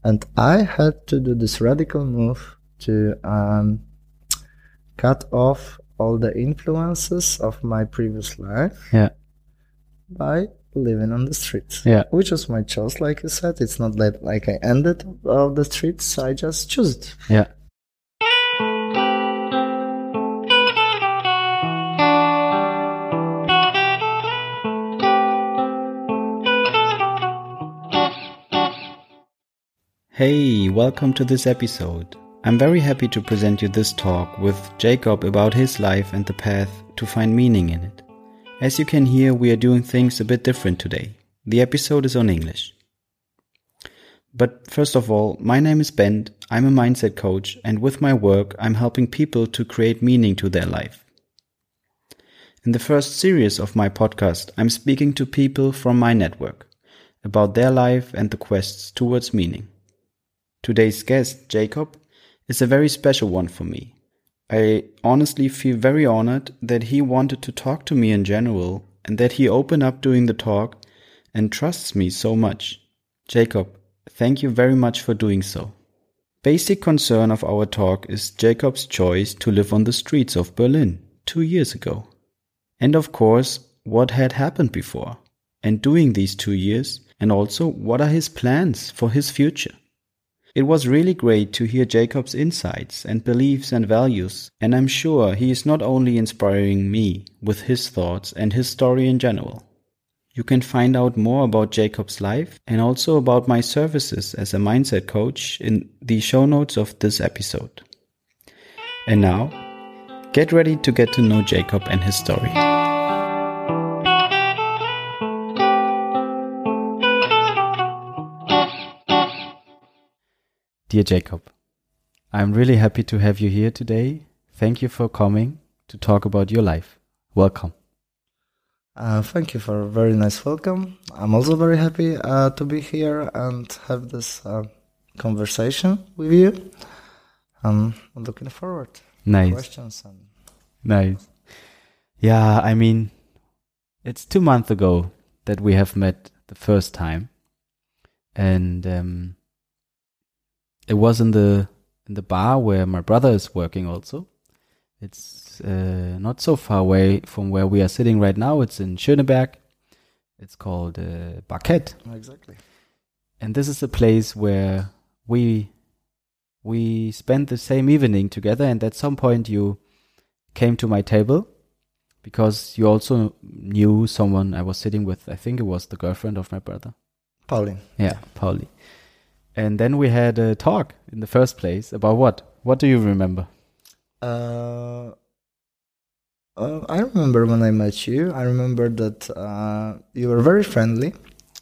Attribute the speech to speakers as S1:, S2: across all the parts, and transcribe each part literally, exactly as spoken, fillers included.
S1: And I had to do this radical move to um, cut off all the influences of my previous life
S2: Yeah.
S1: by living on the streets.
S2: Yeah.
S1: Which was my choice, like you said. It's not that like I ended on the streets, I just chose it.
S2: Yeah. Hey, welcome to this episode. I'm very happy to present you this talk with Jacob about his life and the path to find meaning in it. As you can hear, we are doing things a bit different today. The episode is on English. But first of all, my name is Ben, I'm a mindset coach, and with my work, I'm helping people to create meaning to their life. In the first series of my podcast, I'm speaking to people from my network about their life and the quests towards meaning. Today's guest, Jacob, is a very special one for me. I honestly feel very honored that he wanted to talk to me in general and that he opened up during the talk and trusts me so much. Jacob, thank you very much for doing so. Basic concern of our talk is Jacob's choice to live on the streets of Berlin two years ago. And of course, what had happened before and during these two years, and also what are his plans for his future. It was really great to hear Jacob's insights and beliefs and values, and I'm sure he is not only inspiring me with his thoughts and his story in general. You can find out more about Jacob's life and also about my services as a mindset coach in the show notes of this episode. And now, get ready to get to know Jacob and his story. Dear Jacob, I'm really happy to have you here today. Thank you for coming to talk about your life. Welcome.
S1: Uh, thank you for a very nice welcome. I'm also very happy uh, to be here and have this uh, conversation with you. Um, I'm looking forward
S2: Nice.
S1: to questions. And
S2: Nice. Yeah, I mean, it's two months ago that we have met the first time. And um, it was in the in the bar where my brother is working also. It's uh, not so far away from where we are sitting right now. It's in Schöneberg. It's called uh, Barket.
S1: Exactly.
S2: And this is a place where we we spent the same evening together, and at some point you came to my table because you also knew someone I was sitting with. I think it was the girlfriend of my brother.
S1: Pauline.
S2: Yeah, Pauli. And then we had a talk in the first place about what? What do you remember?
S1: Uh, uh, I remember when I met you. I remember that uh, you were very friendly.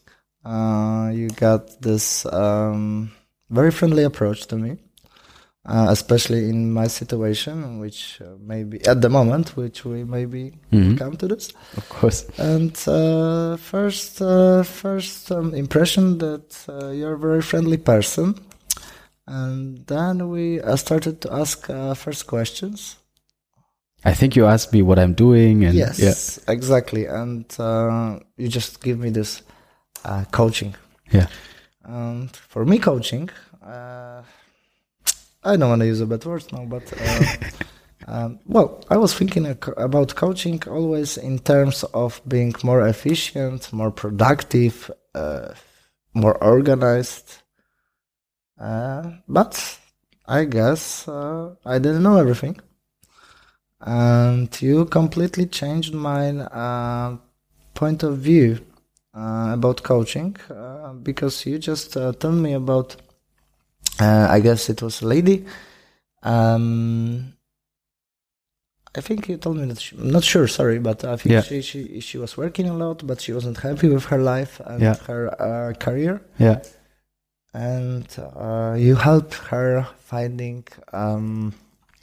S1: Uh, you got this um, very friendly approach to me, uh, especially in my situation, which uh, maybe at the moment, which we maybe
S2: Mhm.
S1: come to this.
S2: Of course.
S1: And uh, first, uh, first um, impression that uh, you're a very friendly person. And then we uh, started to ask uh, first questions.
S2: I think you asked me what I'm doing. And
S1: yes,
S2: yeah.
S1: exactly. And uh, you just give me this uh, coaching.
S2: Yeah.
S1: And for me, coaching, uh, I don't want to use a bad word now, but uh, um, well, I was thinking about coaching always in terms of being more efficient, more productive, uh, more organized. Uh, but I guess uh, I didn't know everything. And you completely changed my uh, point of view uh, about coaching uh, because you just uh, told me about, uh, I guess it was a lady. Um, I think you told me that, she, I'm not sure, sorry, but I think
S2: Yeah.
S1: she, she she was working a lot, but she wasn't happy with her life and
S2: Yeah.
S1: her uh, career.
S2: Yeah.
S1: And uh, you helped her finding um,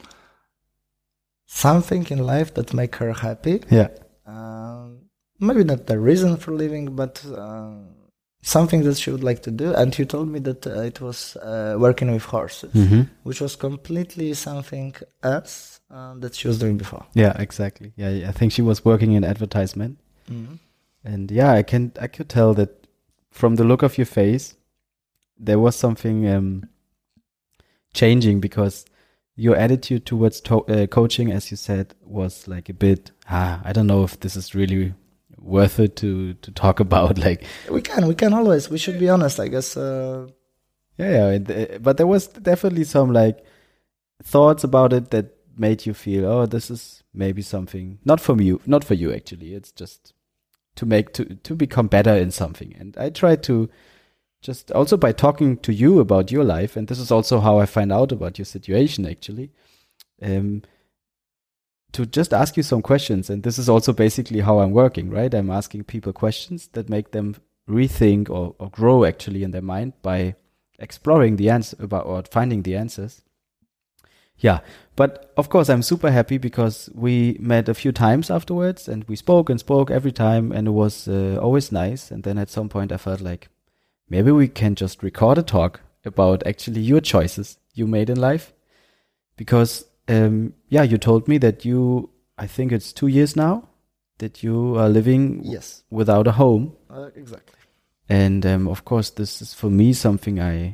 S1: something in life that make her happy.
S2: Yeah.
S1: Um, maybe not the reason for living, but uh, something that she would like to do. And you told me that uh, it was uh, working with horses,
S2: Mm-hmm.
S1: which was completely something else uh, that she was doing before.
S2: Yeah, exactly. Yeah, I think she was working in advertisement.
S1: Mm-hmm.
S2: And yeah, I can I could tell that from the look of your face, there was something um, changing, because your attitude towards to- uh, coaching, as you said, was like a bit, ah, I don't know if this is really worth it to, to talk about. Like
S1: We can, we can always, we should be honest, I guess. Uh,
S2: yeah, yeah. and, uh, But there was definitely some like thoughts about it that made you feel, oh, this is maybe something not for you, not for you actually. It's just to make to to become better in something. And I tried to just also by talking to you about your life, and this is also how I find out about your situation actually, um, to just ask you some questions. And this is also basically how I'm working, right? I'm asking people questions that make them rethink or, or grow actually in their mind by exploring the answer about or finding the answers. Yeah, but of course I'm super happy because we met a few times afterwards and we spoke and spoke every time, and it was uh, always nice. And then at some point I felt like maybe we can just record a talk about actually your choices you made in life, because um, yeah, you told me that you, I think it's two years now that you are living
S1: yes,
S2: without a home.
S1: uh, exactly.
S2: And um, of course, this is for me something I,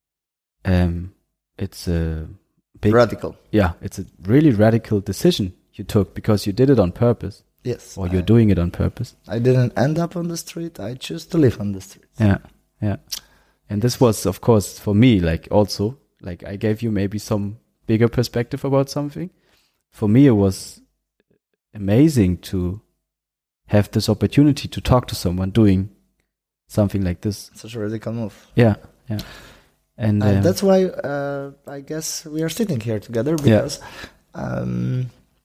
S2: um, it's a big,
S1: Radical.
S2: yeah, it's a really radical decision you took, because you did it on purpose,
S1: Yes.
S2: or you're
S1: I,
S2: doing it on purpose.
S1: I didn't end up on the street. I choose to live on the street.
S2: Yeah, yeah. And this was, of course, for me, like also, like I gave you maybe some bigger perspective about something. For me, it was amazing to have this opportunity to talk to someone doing something like this.
S1: Such a radical move.
S2: Yeah, yeah. And,
S1: And
S2: um,
S1: that's why uh, I guess we are sitting here together, because um,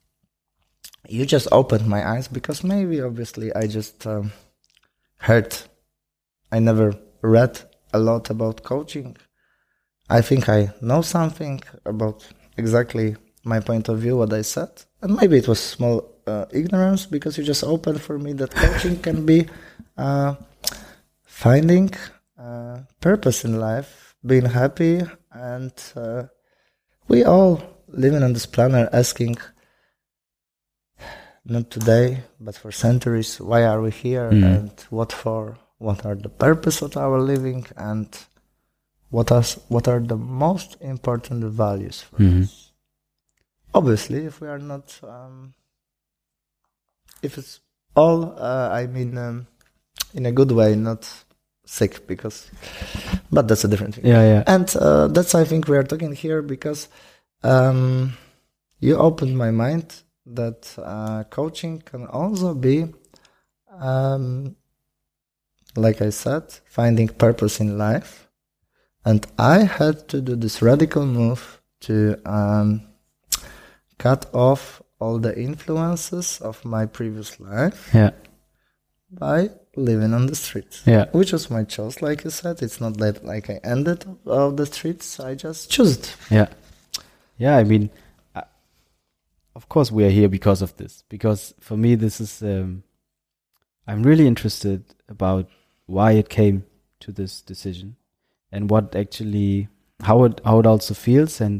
S1: you just opened my eyes, because maybe obviously I just um, heard, I never read a lot about coaching. I think I know something about exactly my point of view, what I said. And maybe it was small uh, ignorance, because you just opened for me that coaching can be uh, finding uh, purpose in life, being happy, and uh, we all living on this planet asking, not today, but for centuries, why are we here,
S2: Mm.
S1: and what for? What are the purpose of our living, and what are what are the most important values for
S2: Mhm.
S1: us? Obviously, if we are not, um, if it's all, uh, I mean, um, in a good way, not sick, because, but that's a different thing.
S2: yeah, yeah.
S1: And uh, that's, I think, we are talking here because um, you opened my mind that uh, coaching can also be, um, like I said, finding purpose in life. And I had to do this radical move to um, cut off all the influences of my previous life
S2: Yeah,
S1: by living on the streets.
S2: yeah.
S1: Which was my choice, like you said. It's not that like I ended on the streets. I just chose it.
S2: Yeah. Yeah, I mean, uh, of course we are here because of this. Because for me, this is, um, I'm really interested about why it came to this decision and what actually, how it, how it also feels, and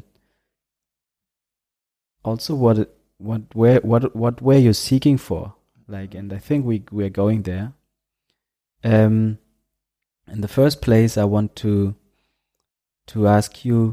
S2: also what, it, what, where, what, what, where you're seeking for. Like, and I think we, we're going there. Um, in the first place, I want to, to ask you,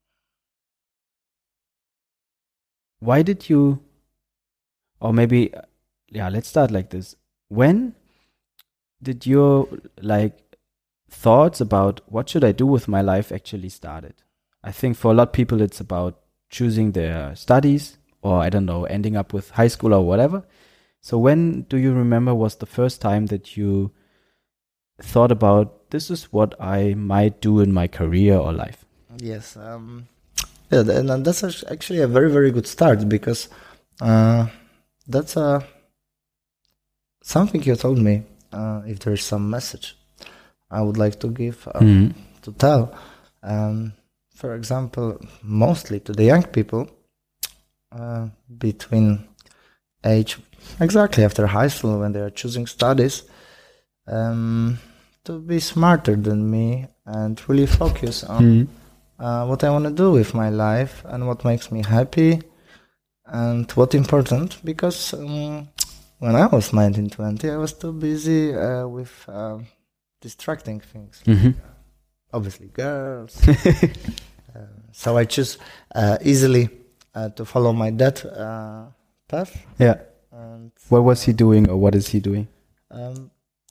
S2: why did you, or maybe, yeah, let's start like this. When did your, like, thoughts about what should I do with my life actually started? I think for a lot of people, it's about choosing their studies, or I don't know, ending up with high school or whatever. So when do you remember was the first time that you thought about, this is what I might do in my career or life?
S1: Yes. Um, yeah, and and that's act- actually a very, very good start, because uh, that's a, something you told me. Uh, if there's some message I would like to give, uh,
S2: Mhm.
S1: to tell. Um, for example, mostly to the young people uh, between age exactly after high school, when they are choosing studies, um, to be smarter than me and really focus on
S2: Mhm.
S1: uh, what I want to do with my life and what makes me happy and what important, because um, when I was nineteen, twenty, I was too busy uh, with uh, distracting things.
S2: Mhm.
S1: obviously girls. uh, so I choose uh, easily uh, to follow my dad uh, path.
S2: Yeah.
S1: And
S2: what was he doing, or what is he doing?
S1: Um,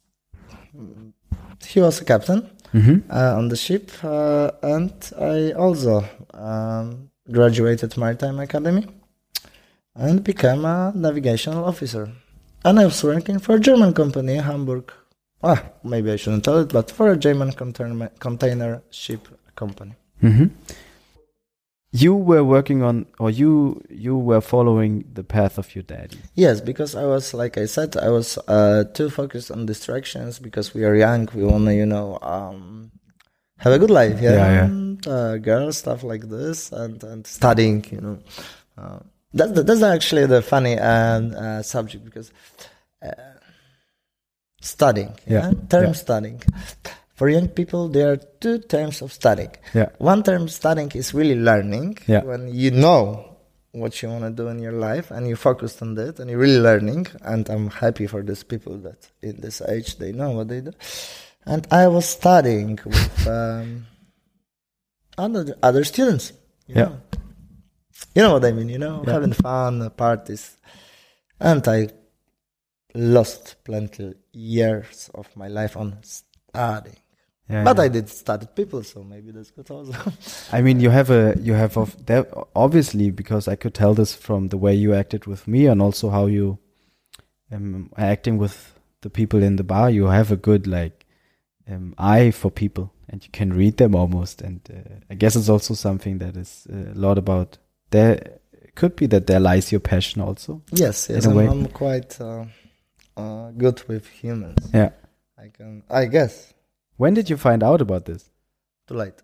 S1: he was a captain
S2: Mm-hmm.
S1: uh, on the ship, uh, and I also um, graduated Maritime Academy and became a navigational officer. And I was working for a German company in Hamburg. Ah, maybe I shouldn't tell it, but for a German container, container ship company.
S2: Mm-hmm. You were working on, or you you were following the path of your daddy.
S1: Yes, because I was, like I said, I was uh, too focused on distractions because we are young. We want to, you know, um, have a good life, yeah,
S2: Yeah, yeah.
S1: And, uh, girls, stuff like this, and, and studying, you know. Uh, that's the, that's actually the funny um, uh, subject because uh, studying, yeah,
S2: Yeah,
S1: term
S2: yeah.
S1: studying. For young people, there are two terms of studying.
S2: Yeah.
S1: One term studying is really learning,
S2: Yeah.
S1: when you know what you want to do in your life and you focused on that and you're really learning. And I'm happy for these people that in this age they know what they do. And I was studying with um, other other students. You
S2: Yeah.
S1: know. You know what I mean, you know,
S2: Yeah.
S1: having fun, parties. And I lost plenty years of my life on studying.
S2: Yeah,
S1: But
S2: yeah.
S1: I did study people, so maybe that's good also.
S2: I mean, you have a you have of that obviously, because I could tell this from the way you acted with me and also how you um, are acting with the people in the bar. You have a good like um, eye for people, and you can read them almost. And uh, I guess it's also something that is uh, a lot about there. It could be that there lies your passion also.
S1: Yes, yes,
S2: In a
S1: I'm,
S2: way.
S1: I'm quite uh, uh, good with humans.
S2: Yeah.
S1: I can, I guess,
S2: When did you find out about this?
S1: too late.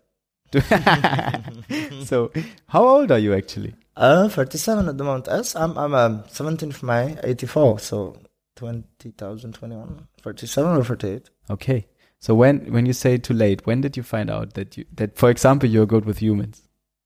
S2: So, how old are you actually?
S1: Uh, thirty-seven at the moment. Yes, I'm, I'm um, seventeenth of May, eighty-four, so twenty twenty-one, thirty-seven or thirty-eight.
S2: Okay. So when when you say too late, when did you find out that you that for example you're good with humans?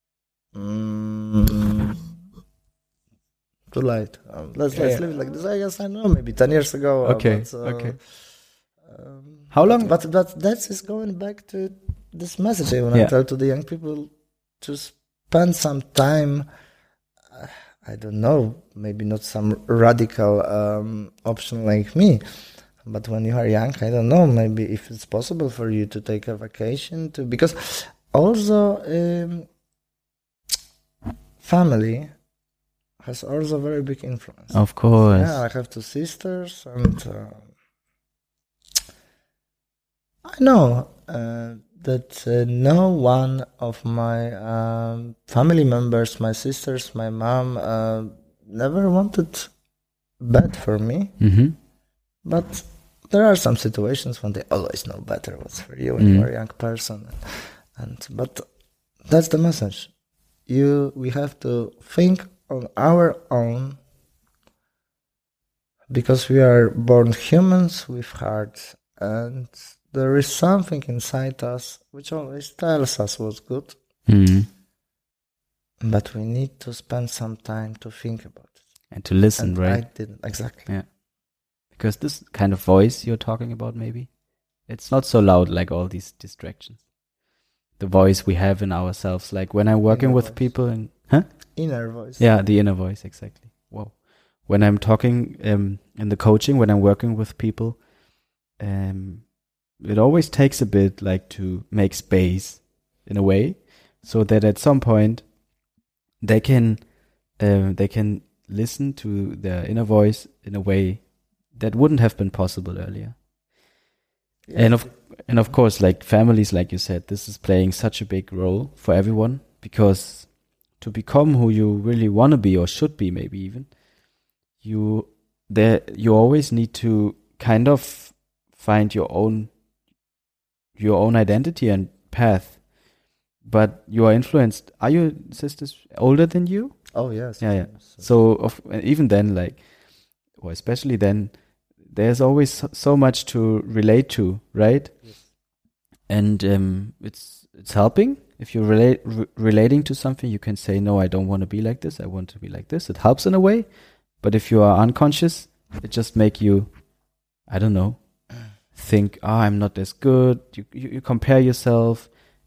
S1: Mm, too late. Um, let's let's
S2: Yeah.
S1: leave it like this. I guess I know, maybe ten years ago. uh,
S2: Okay.
S1: but, uh,
S2: Okay.
S1: Um,
S2: How long-
S1: But but that's is going back to this message I want to
S2: Yeah.
S1: tell to the young people to spend some time. uh, I don't know, maybe not some radical um, option like me, but when you are young, I don't know, maybe if it's possible for you to take a vacation to, because also um, family has also very big influence.
S2: Of course.
S1: Yeah, I have two sisters, and uh, I know uh, that uh, no one of my um, family members, my sisters, my mom, uh, never wanted bad for me.
S2: Mm-hmm.
S1: But there are some situations when they always know better what's for you when
S2: Mm.
S1: you are a young person, and but that's the message. You, we have to think on our own, because we are born humans with hearts, and there is something inside us which always tells us what's good,
S2: Mm-hmm.
S1: but we need to spend some time to think about it.
S2: And to listen,
S1: And
S2: right?
S1: I didn't exactly.
S2: Yeah. Because this kind of voice you're talking about, maybe it's not so loud like all these distractions. The voice we have in ourselves, like when I'm working
S1: Inner
S2: with
S1: voice.
S2: people, and huh?
S1: Inner voice.
S2: Yeah, the inner voice, exactly. Whoa. When I'm talking um, in the coaching, when I'm working with people, um, it always takes a bit like to make space in a way, so that at some point they can uh, they can listen to their inner voice in a way that wouldn't have been possible earlier.
S1: Yeah.
S2: And of and of course, like families, like you said, this is playing such a big role for everyone, because to become who you really want to be, or should be, maybe even, you there you always need to kind of find your own your own identity and path. But you are influenced. Are your sisters older than you?
S1: Oh yes.
S2: Yeah, yeah.
S1: yes.
S2: So of, even then, like, or especially then, there's always so, so much to relate to, right?
S1: Yes.
S2: And um, it's it's helping. If you're relate, re- relating to something, you can say, no, I don't want to be like this. I want to be like this. It helps in a way. But if you are unconscious, it just make you, I don't know, think, oh, I'm not as good. You, you, you compare yourself.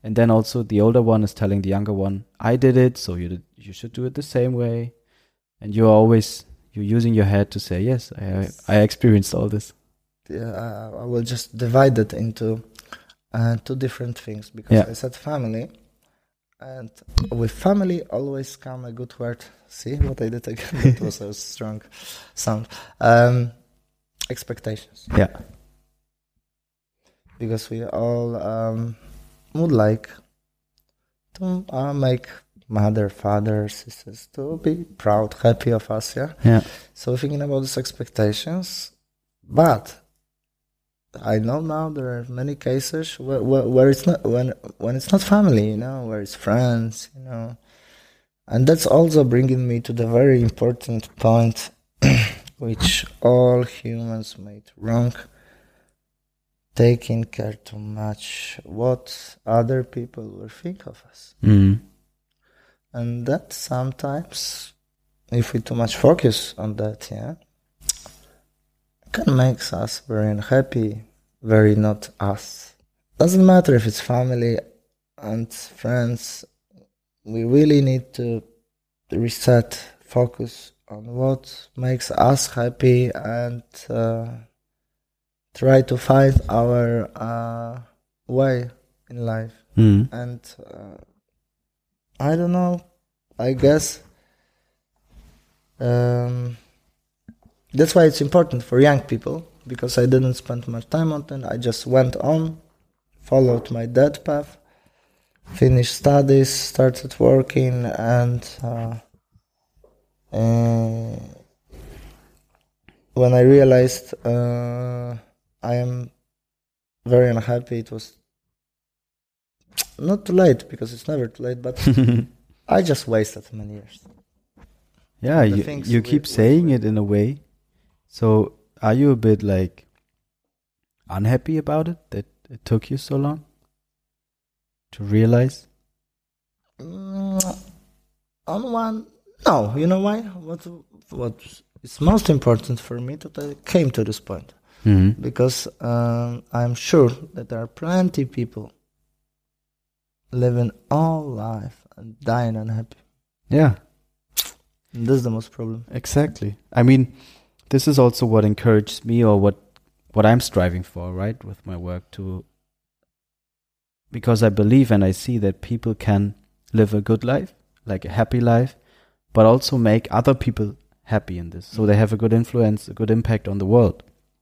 S2: And then also the older one is telling the younger one, I did it, so you did, you should do it the same way. And you're always, you're using your head to say, yes, I,
S1: Yes.
S2: I experienced all this.
S1: Yeah, I I will just divide it into uh, two different things, because
S2: Yeah.
S1: I said family, and with family always come a good word. See what I did again? That was a strong sound. Um, expectations,
S2: Yeah.
S1: because we all um, would like to uh, make mother, father, sisters to be proud, happy of us. Yeah.
S2: Yeah.
S1: So thinking about these expectations, but I know now there are many cases where, where, where it's not when when it's not family, you know, where it's friends, you know, and that's also bringing me to the very important point, which all humans made wrong: taking care too much what other people will think of us,
S2: Mm.
S1: and that sometimes, if we too much focus on that, yeah, can make us very unhappy, very not us. Doesn't matter if it's family and friends. We really need to reset, focus on what makes us happy, and uh, try to find our uh, way in life.
S2: Mm.
S1: And uh, I don't know, I guess um, that's why it's important for young people, because I didn't spend much time on it. I just went on, followed my dad path, finished studies, started working, and uh, uh, when I realized uh, I am very unhappy, it was not too late, because it's never too late, but I just wasted many years.
S2: Yeah,
S1: The
S2: you,
S1: things
S2: you
S1: we-
S2: keep
S1: we-
S2: saying
S1: we-
S2: it in a way. So are you a bit like unhappy about it, that it took you so long to realize?
S1: Mm, on one, no, you know why? What what is most important for me that I came to this point,
S2: Mm-hmm.
S1: because um, I'm sure that there are plenty people living all life and dying unhappy.
S2: Yeah,
S1: And that's the most problem.
S2: exactly. I mean, this is also what encourages me, or what what I'm striving for, right, with my work, to because I believe and I see that people can live a good life, like a happy life, but also make other people happy in this, so they have a good influence, a good impact on the world.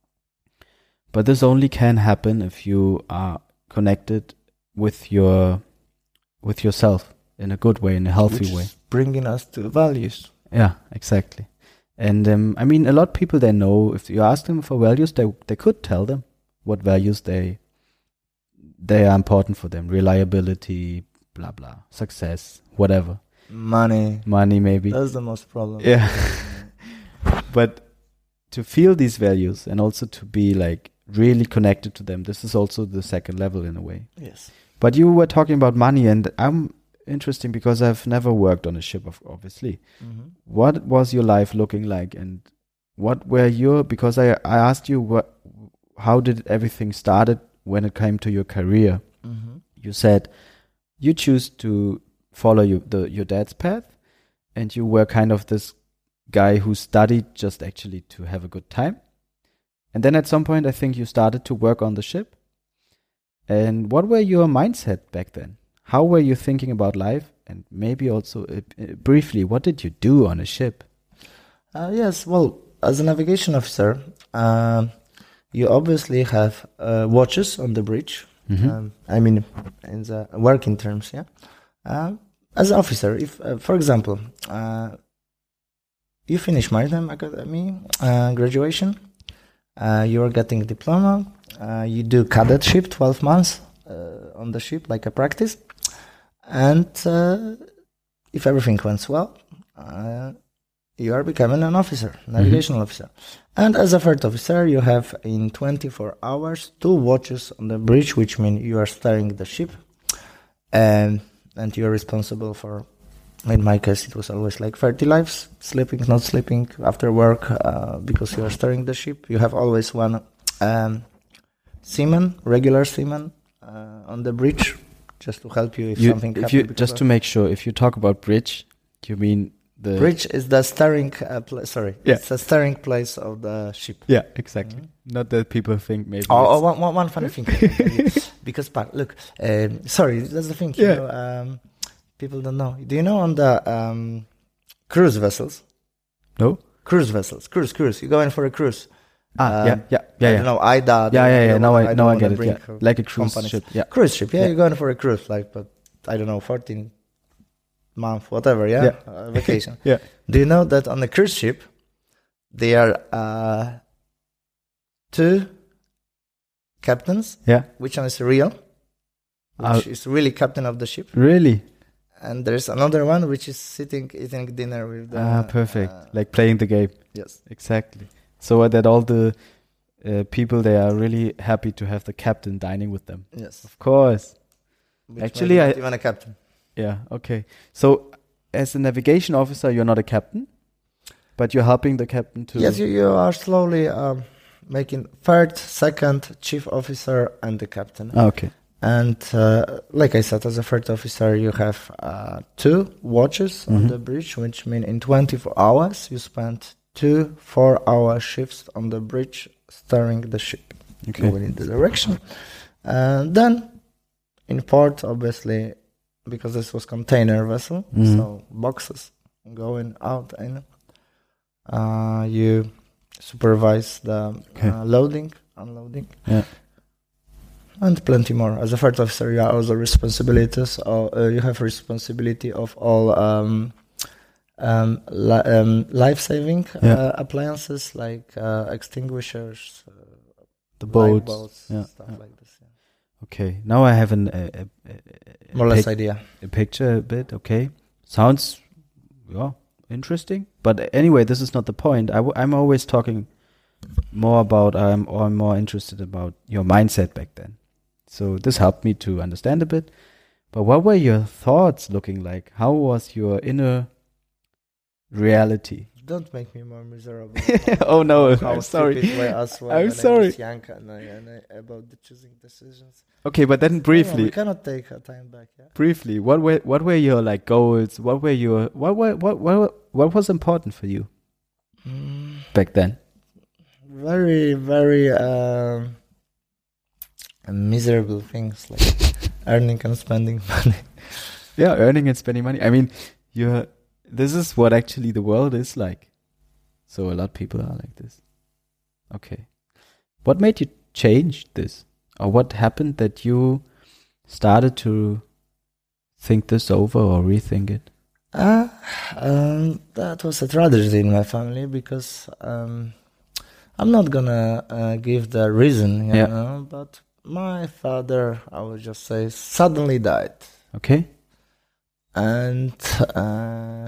S2: But this only can happen if you are connected with your with yourself in a good way, in a healthy
S1: Which
S2: way.
S1: is bringing us to values.
S2: Yeah, exactly. And um, I mean, a lot of people, they know, if you ask them for values, they they could tell them what values they they are important for them. Reliability, blah blah, success, whatever,
S1: Money.
S2: money maybe.
S1: That's the most problem.
S2: Yeah. But to feel these values and also to be like really connected to them, this is also the second level in a way.
S1: Yes.
S2: But you were talking about money, and I'm interesting because I've never worked on a ship, of obviously.
S1: Mm-hmm.
S2: What was your life looking like, and what were your, because I, I asked you what, how did everything started when it came to your career?
S1: Mm-hmm.
S2: You said you choose to follow you, the, your dad's path, and you were kind of this guy who studied just actually to have a good time. And then at some point, I think you started to work on the ship. And what were your mindset back then? How were you thinking about life? And maybe also uh, uh, briefly, what did you do on a ship?
S1: Uh, yes, well, as a navigation officer, um, you obviously have uh, watches on the bridge.
S2: Mhm.
S1: Um, I mean, in the working terms, yeah. Uh, as an officer, if, uh, for example, uh, you finish Maritime Academy uh, graduation, uh, you are getting a diploma, uh, you do cadetship, twelve months uh, on the ship, like a practice, and uh, if everything went well, uh, you are becoming an officer, navigational officer. And as a third officer, you have in twenty-four hours two watches on the bridge, which means you are steering the ship, and and you are responsible for, in my case, it was always like thirty lives, sleeping, not sleeping, after work, uh, because you are steering the ship. You have always one um, seaman, regular seaman, uh, on the bridge, just to help you if
S2: You,
S1: something
S2: if
S1: happens.
S2: you
S1: because
S2: just
S1: of-
S2: to make sure, if you talk about bridge, you mean the
S1: Bridge is the steering. Uh, pla- sorry,
S2: Yeah.
S1: it's the steering place of the ship.
S2: Yeah, exactly. Not that people think maybe.
S1: Oh, oh
S2: it's-
S1: one, one, one funny thing. Because, but look, um, sorry, that's the thing. You
S2: Yeah.
S1: know, um, people don't know. Do you know on the um, cruise vessels?
S2: No.
S1: Cruise vessels, cruise, cruise. You go in for a cruise.
S2: Ah,
S1: Um,
S2: yeah, yeah, yeah,
S1: I
S2: yeah.
S1: don't know, I D A.
S2: Yeah, yeah, yeah.
S1: don't
S2: Now
S1: wanna-
S2: I,
S1: don't
S2: now I
S1: wanna
S2: get it.
S1: bring,
S2: Yeah,
S1: uh,
S2: like a cruise
S1: companies.
S2: ship. Yeah,
S1: Cruise ship, yeah,
S2: Yeah.
S1: you're going for a cruise, like, but I don't know, fourteen month, whatever, yeah,
S2: Yeah.
S1: Uh, vacation.
S2: yeah.
S1: Do you know that on a cruise ship, there are uh, two captains?
S2: Yeah.
S1: Which one is real? Which
S2: Uh,
S1: is really captain of the ship,
S2: Really?
S1: and there's another one which is sitting eating dinner with the.
S2: ah, perfect.
S1: uh,
S2: Like playing the game.
S1: yes.
S2: Exactly. So that all the uh, people they are really happy to have the captain dining with them.
S1: Yes.
S2: Of course.
S1: Which
S2: Actually,
S1: maybe
S2: I-
S1: not even a captain.
S2: Yeah. Okay. So as a navigation officer, you're not a captain, but you're helping the captain to.
S1: Yes, you, you are slowly um, making third, second, chief officer, and the captain.
S2: Ah, okay.
S1: And uh, like I said, as a third officer, you have uh, two watches on
S2: Mhm.
S1: the bridge, which mean in twenty-four hours you spend two four-hour shifts on the bridge, steering the ship
S2: Okay.
S1: going in the direction. And then in port, obviously, because this was container vessel,
S2: Mhm.
S1: so boxes going out in. Uh, you supervise the
S2: Okay.
S1: uh, loading, unloading.
S2: Yeah.
S1: And plenty more. As a third officer, you are also responsibilities. Or, uh, you have responsibility of all um, um, li- um, life-saving
S2: Yeah.
S1: uh, appliances like uh, extinguishers, uh,
S2: The boats.
S1: lifeboats,
S2: Yeah,
S1: stuff
S2: yeah.
S1: like this. Yeah.
S2: Okay. Now I have an, a, a, a, a
S1: More or less
S2: pic-
S1: idea.
S2: a picture a bit. Okay. Sounds, yeah, interesting. But anyway, this is not the point. I w- I'm always talking more about, I'm, or I'm more interested about your mindset back then. So this helped me to understand a bit. But what were your thoughts looking like? How was your inner reality?
S1: Don't make me more miserable.
S2: Oh no,
S1: How
S2: I'm sorry.
S1: stupid were us when,
S2: I'm
S1: when I
S2: sorry.
S1: was young and, I, and I, about the choosing decisions.
S2: Okay, but then
S1: No, no,
S2: briefly,
S1: we cannot take our time back. Yeah.
S2: briefly, what were what were your like goals? What were your what were what what what was important for you
S1: Mm,
S2: back then?
S1: very, very um, miserable things like earning and spending money.
S2: Yeah, earning and spending money. I mean, you're this is what actually the world is like. So a lot of people are like this. Okay. What made you change this? Or what happened that you started to think this over or rethink it?
S1: Uh, um, that was a tragedy in my family because um, I'm not gonna uh, give the reason, you
S2: Yeah.
S1: know, but my father, I would just say, suddenly died.
S2: Okay?
S1: And uh,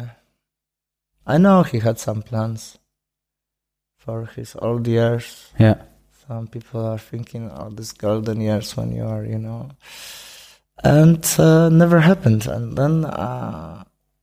S1: I know he had some plans for his old years.
S2: Yeah.
S1: Some people are thinking, oh, these golden years when you are, you know. And uh, never happened. And then uh,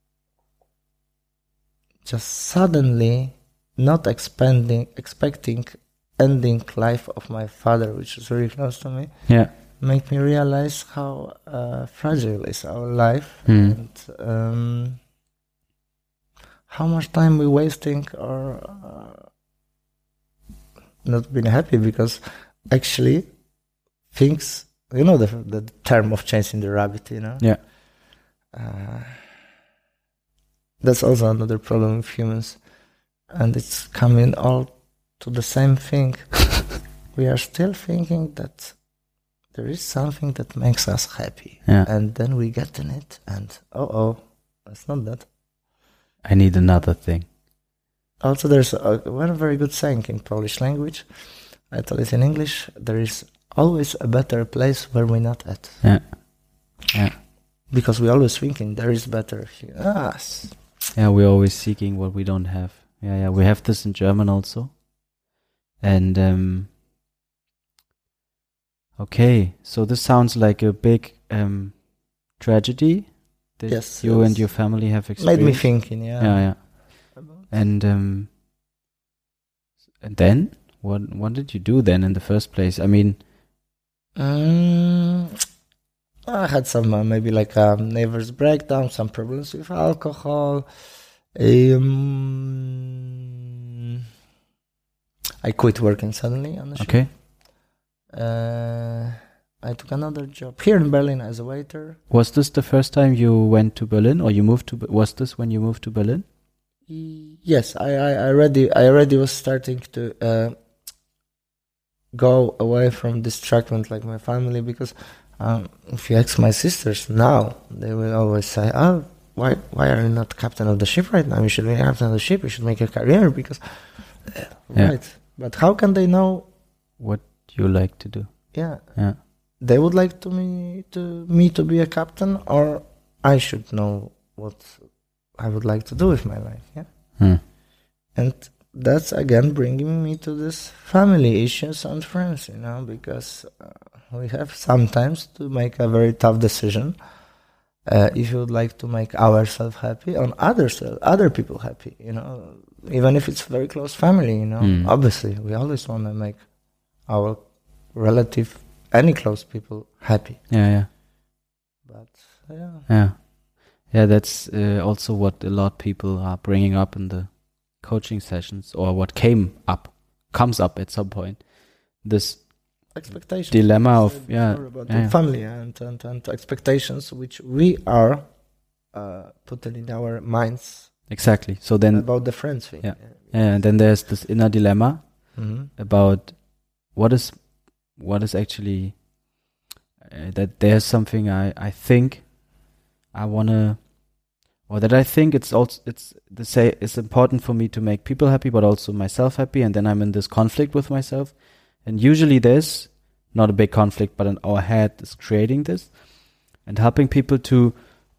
S1: just suddenly, not expanding, expecting ending life of my father, which is very close to me,
S2: Yeah.
S1: make me realize how uh, fragile is our life
S2: Hmm.
S1: and um, how much time we're wasting or uh, not being happy because actually things, you know, the the term of chasing the rabbit, you know.
S2: Yeah.
S1: Uh, that's also another problem with humans, and it's coming all to the same thing. We are still thinking that there is something that makes us happy,
S2: Yeah.
S1: and then we get in it, and oh oh, it's not that.
S2: I need another thing.
S1: Also, there's a, one very good saying in Polish language. I tell it in English. There is always a better place where we're not at.
S2: Yeah. Yeah.
S1: Because we're always thinking there is better here. Ah, s-
S2: Yeah, we're always seeking what we don't have. Yeah, yeah. We have this in German also. And um okay, so this sounds like a big um tragedy that
S1: Yes,
S2: you
S1: yes.
S2: and your family have
S1: made
S2: experienced.
S1: me thinking. Yeah.
S2: Yeah, yeah.
S1: About-
S2: And um and then what what did you do then in the first place? I mean,
S1: Mm, I had some uh, maybe like a nervous breakdown, some problems with alcohol. Um, I quit working suddenly on the ship.
S2: Okay.
S1: Uh, I took another job here in Berlin as a waiter.
S2: Was this the first time you went to Berlin, or you moved to? Be- Was this when you moved to Berlin?
S1: Yes, I, I, I already I already was starting to uh, go away from distraction like my family, because um, if you ask my sisters now, they will always say, "Oh, why why are you not captain of the ship right now? You should be captain of the ship. You should make a career." Because uh,
S2: Yeah.
S1: right, but how can they know?
S2: What you like to do?
S1: Yeah,
S2: Yeah.
S1: they would like to me to me to be a captain, or I should know what I would like to do with my life. Yeah.
S2: Hmm.
S1: And that's again bringing me to this family issues and friends, you know, because uh, we have sometimes to make a very tough decision. Uh, if you would like to make ourselves happy and others, other people happy, you know, even if it's very close family, you know,
S2: Mm.
S1: obviously we always want to make our relative, any close people happy.
S2: Yeah. Yeah.
S1: But yeah,
S2: Yeah. Yeah, that's uh, also what a lot of people are bringing up in the coaching sessions, or what came up, comes up at some point. This
S1: expectations.
S2: dilemma of,
S1: Said
S2: yeah,
S1: before about
S2: yeah,
S1: the
S2: yeah.
S1: family and, and, and expectations which we are uh, putting in our minds
S2: Exactly. So then,
S1: about the friends thing.
S2: Yeah. yeah, and then there's this inner dilemma
S1: Mm-hmm.
S2: about what is, what is actually, uh, that there's something I, I think I want to, or that I think it's also, it's the say, it's important for me to make people happy, but also myself happy. And then I'm in this conflict with myself. And usually there's not a big conflict, but in our head is creating this and helping people to,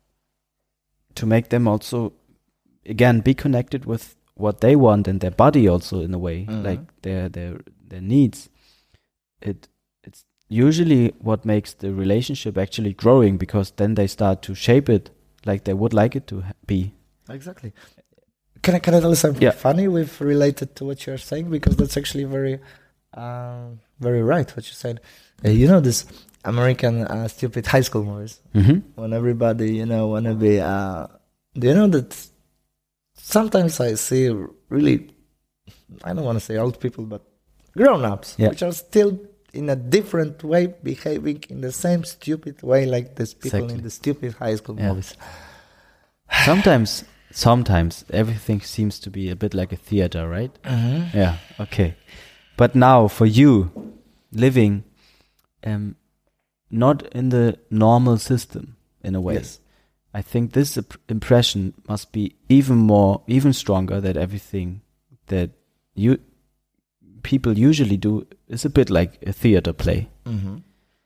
S2: to make them also, again, be connected with what they want and their body also in a way,
S1: Mhm.
S2: like their, their, their needs. It, it's usually what makes the relationship actually growing, because then they start to shape it like they would like it to ha- be.
S1: Exactly. Can I can I tell you something
S2: Yeah.
S1: funny with related to what you're saying, because that's actually very, um, very right what you said. Uh, you know this American uh, stupid high school movies
S2: Mm-hmm.
S1: when everybody you know wanna be. Uh, do you know that sometimes I see really, I don't want to say old people, but grown-ups,
S2: Yeah.
S1: which are still in a different way behaving in the same stupid way like these people
S2: Exactly.
S1: in the stupid high school
S2: Yeah.
S1: movies.
S2: Sometimes, sometimes everything seems to be a bit like a theater, right?
S1: Mm-hmm.
S2: Yeah. Okay. But now for you, living, um, not in the normal system in a way.
S1: Yes.
S2: I think this imp- impression must be even more, even stronger, that everything that you people usually do is a bit like a theater play.
S1: Mm-hmm.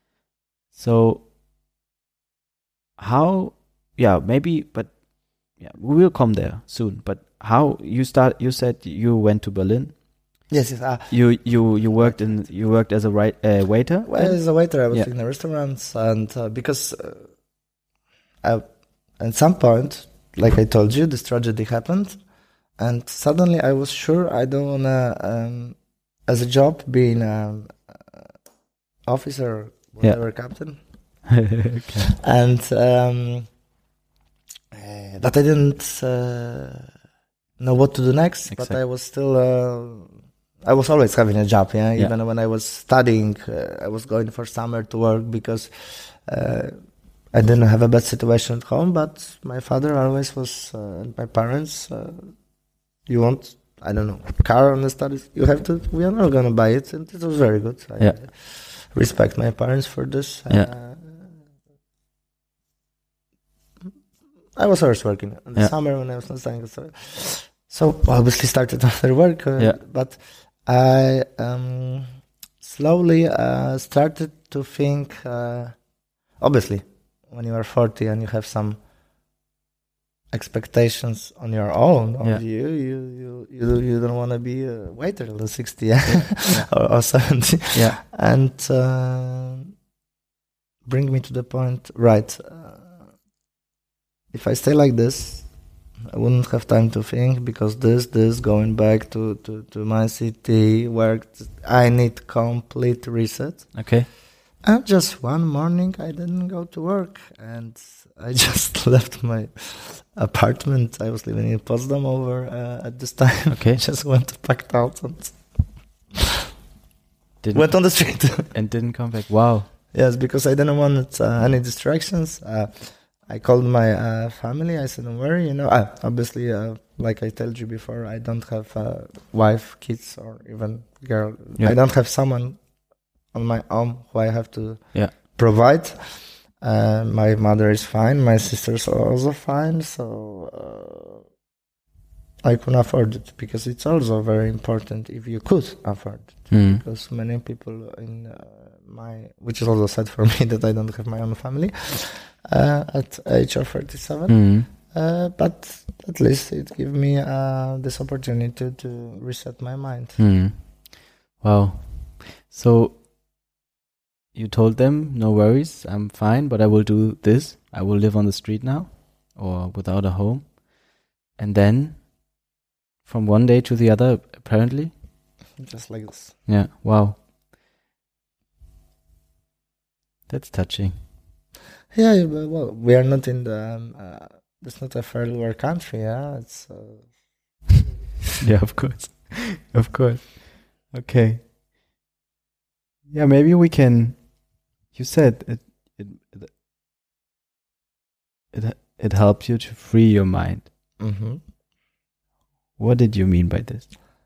S2: So how, yeah, maybe, but yeah, we will come there soon. But how you start? You said you went to Berlin.
S1: Yes, yes. Uh,
S2: You you you worked in you worked as a right, uh, waiter.
S1: well, as a waiter, I was
S2: Yeah.
S1: in the restaurants, and uh, because uh, I, at some point, like I told you, this tragedy happened, and suddenly I was sure I don't wanna, um, as a job, being an officer, whatever, captain,
S2: Okay.
S1: and um, uh, that I didn't uh, know what to do next. But
S2: Exactly.
S1: I was still, uh, I was always having a job. Yeah,
S2: Yeah.
S1: even when I was studying, uh, I was going for summer to work because uh, I didn't have a bad situation at home. But my father always was, uh, and my parents. Uh, you want, I don't know, car on the studies? You have to. We are not gonna buy it, and it was very good. I
S2: Yeah.
S1: respect my parents for this.
S2: Yeah.
S1: Uh, I was always working in the
S2: Yeah.
S1: summer when I was not studying. So, so obviously started after work. Uh,
S2: Yeah.
S1: But I um, slowly uh, started to think. Uh, obviously, when you are forty and you have some expectations on your own, on
S2: Yeah.
S1: you, you, you, you, you don't want to be a waiter till sixty yeah? or, or seventy.
S2: Yeah.
S1: And uh, bring me to the point, right? Uh, if I stay like this, I wouldn't have time to think, because this, this, going back to, to, to my city, work, I need complete reset.
S2: Okay.
S1: And just one morning, I didn't go to work, and I just left my apartment. I was living in Potsdam over uh, at this time.
S2: Okay.
S1: Just went, packed out, and
S2: Didn't
S1: went on the street.
S2: and didn't come back. Wow.
S1: Yes, because I didn't want uh, any distractions. Uh, I called my uh, family. I said, "Don't worry, you know." Uh, obviously, uh, like I told you before, I don't have a wife, kids, or even girl.
S2: Yeah.
S1: I don't have someone on my own who I have to
S2: Yeah.
S1: provide. Uh, my mother is fine. My sisters are also fine. So uh, I can afford it, because it's also very important if you could afford it.
S2: Mm.
S1: Because many people in uh, my, which is also sad for me that I don't have my own family uh, at age of thirty-seven.
S2: Mm.
S1: Uh, but at least it gave me uh, this opportunity to, to reset my mind.
S2: Mm. Wow. So you told them, no worries, I'm fine, but I will do this. I will live on the street now, or without a home. And then, from one day to the other, apparently.
S1: Just like this.
S2: Yeah. Wow. That's touching.
S1: Yeah, yeah, but, well, we are not in the. Um, uh, it's not a third world country. Yeah, it's. Uh,
S2: Yeah, of course, of course. Okay. Yeah, maybe we can. You said it. It. It. It, it helps you to free your mind.
S1: mm-hmm.
S2: What did you mean by this?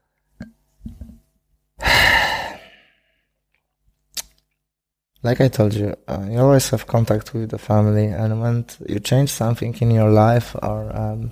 S1: Like I told you, uh, you always have contact with the family, and when t- you change something in your life, or um,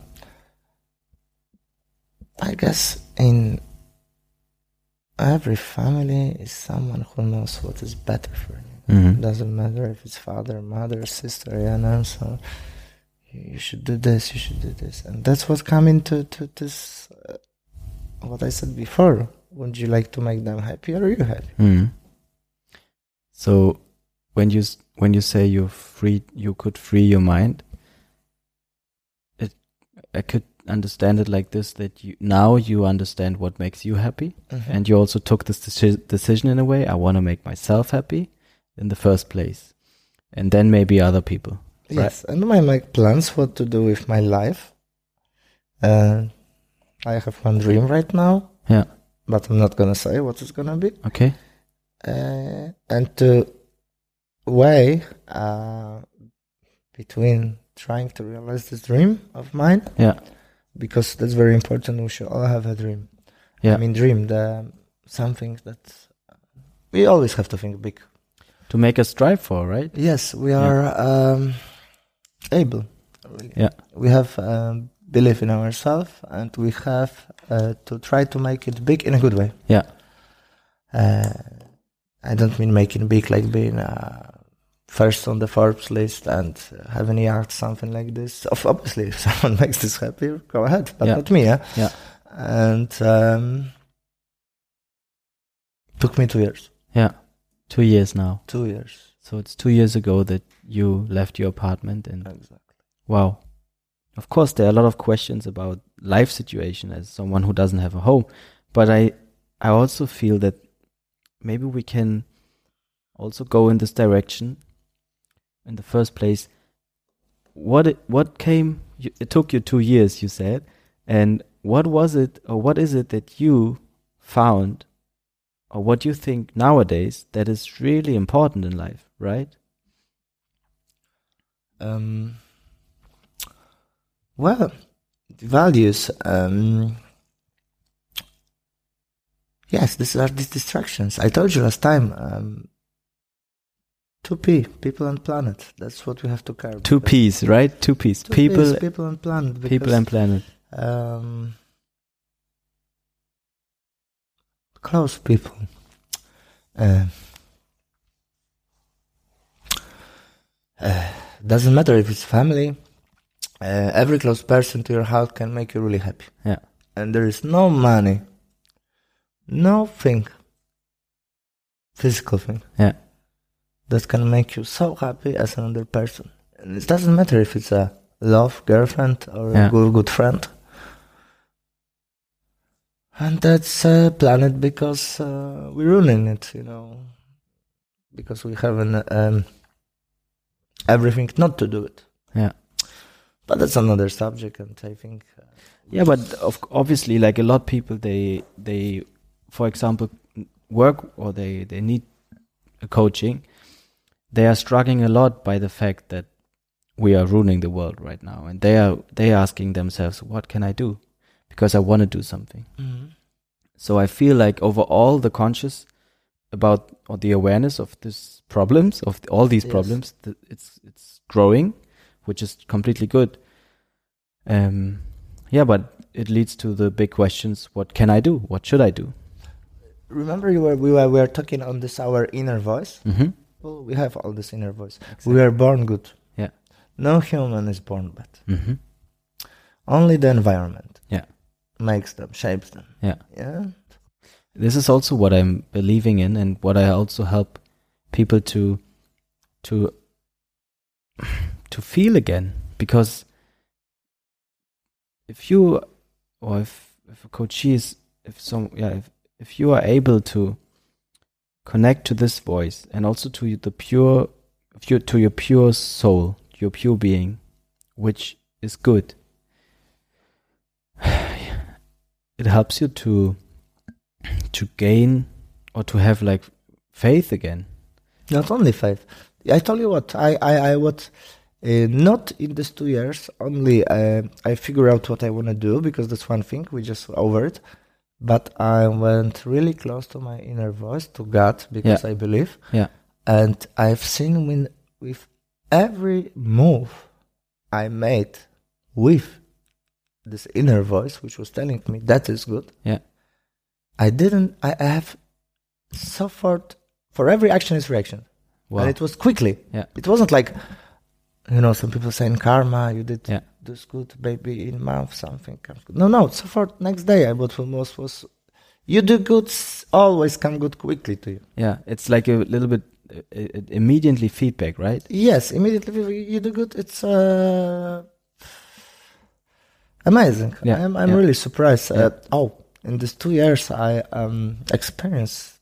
S1: I guess in every family is someone who knows what is better for you.
S2: Mm-hmm.
S1: Doesn't matter if it's father, mother, sister, you know. So you should do this, you should do this, and that's what come into to this. Uh, what I said before. Would you like to make them happy, or are you happy?
S2: Mm-hmm. So, when you s- when you say you free, you could free your mind. It, I could understand it like this: that you now you understand what makes you happy,
S1: Mm-hmm.
S2: and you also took this deci- decision in a way. I want to make myself happy in the first place, and then maybe other people.
S1: Yes, and I make plans what to do with my life. Uh, I have one dream right now,
S2: Yeah.
S1: but I'm not gonna say what it's gonna be.
S2: Okay.
S1: Uh, and to weigh uh, between trying to realize this dream of mine,
S2: Yeah.
S1: because that's very important. We should all have a dream.
S2: Yeah.
S1: I mean, dream the something that we always have to think big.
S2: To make us strive for, right?
S1: Yes, we are um, able. Really.
S2: Yeah.
S1: We have um, belief in ourselves, and we have uh, to try to make it big in a good way.
S2: Yeah.
S1: Uh, I don't mean making big like being uh, first on the Forbes list and uh, having a yacht, something like this. Of Obviously, if someone makes this happy, go ahead, but
S2: Yeah.
S1: not me. Yeah.
S2: Yeah.
S1: And um, took me two years.
S2: Yeah. Two years now.
S1: Two years.
S2: So it's two years ago that you left your apartment, and
S1: Exactly.
S2: wow. Of course, there are a lot of questions about life situation as someone who doesn't have a home, but I, I also feel that maybe we can also go in this direction. In the first place, what it, what came? You, it took you two years, you said, and what was it, or what is it that you found, or what you think nowadays that is really important in life, right?
S1: Um, well, the values. Um, yes, these are these distractions. I told you last time. Um, two P, people and planet. That's what we have to care about.
S2: Two P's, right? Two P's.
S1: Two
S2: People,
S1: Ps, people and planet.
S2: people and planet.
S1: Um, close people. Uh, uh, doesn't matter if it's family. Uh, every close person to your heart can make you really happy.
S2: Yeah.
S1: And there is no money, no thing, physical thing,
S2: Yeah.
S1: that can make you so happy as another person. And it doesn't matter if it's a love girlfriend or
S2: Yeah.
S1: a good, good friend. And that's a planet because uh, we're ruining it, you know. because we have an, um, everything not to do it.
S2: Yeah.
S1: But that's another subject, and I think. Uh,
S2: yeah, but of, obviously, like a lot of people, they they, for example, work or they they need a coaching. They are struggling a lot by the fact that we are ruining the world right now, and they are they are asking themselves, "What can I do?" Because I want to do something. Mm-hmm. So I feel like overall, the conscious about or the awareness of these problems, of all these yes. problems, th- it's it's growing, which is completely good. Um, yeah, but it leads to the big questions: what can I do? What should I do?
S1: Remember, you were we were we were talking on this our inner voice.
S2: Mm-hmm.
S1: Well, we have all this inner voice. Exactly. We are born good.
S2: Yeah.
S1: No human is born bad.
S2: Mm-hmm.
S1: Only the environment.
S2: Yeah.
S1: Makes them, shapes them.
S2: Yeah.
S1: Yeah.
S2: This is also what I'm believing in, and what I also help people to to to feel again. Because if you or if if a coachee is if some yeah if if you are able to connect to this voice and also to the pure, to your pure soul, your pure being, which is good, it helps you to to gain or to have like faith again.
S1: Not only faith. I tell you what, I I, I would uh, not in these two years only uh, I figure out what I want to do, because that's one thing, we just over it. But I went really close to my inner voice, to God, because yeah. I believe.
S2: Yeah.
S1: And I've seen when, with every move I made with this inner voice, which was telling me that is good.
S2: Yeah.
S1: I didn't, I have suffered, for every action is reaction.
S2: Wow.
S1: And it was quickly.
S2: Yeah.
S1: It wasn't like, you know, some people saying karma, you did
S2: yeah.
S1: this good, maybe in month something comes good. No, no, so for next day I bought most was, you do good, always come good quickly to you.
S2: Yeah, it's like a little bit uh, immediately feedback, right?
S1: Yes, immediately you do good. It's uh, amazing.
S2: Yeah.
S1: I'm, I'm
S2: yeah.
S1: really surprised.
S2: Yeah.
S1: Uh, oh, in these two years I um experienced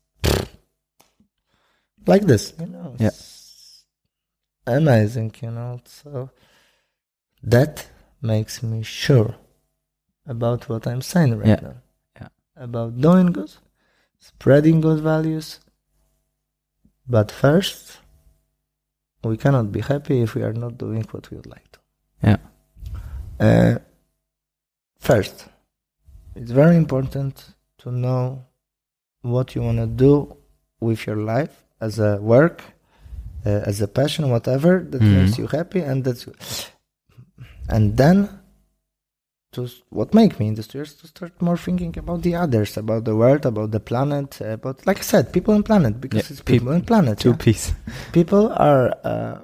S1: like this, you know.
S2: Yeah.
S1: Amazing, you know. So that makes me sure about what I'm saying right
S2: yeah.
S1: now.
S2: Yeah.
S1: About doing good, spreading good values. But first, we cannot be happy if we are not doing what we would like to.
S2: Yeah.
S1: Uh, first, it's very important to know what you want to do with your life as a work, uh, as a passion, whatever that mm-hmm. makes you happy, and that's, and then to what make me in this two years to start more thinking about the others, about the world, about the planet, about, like I said, people and planet, because yeah, it's people, people and planet.
S2: Two
S1: yeah?
S2: piece.
S1: People are uh,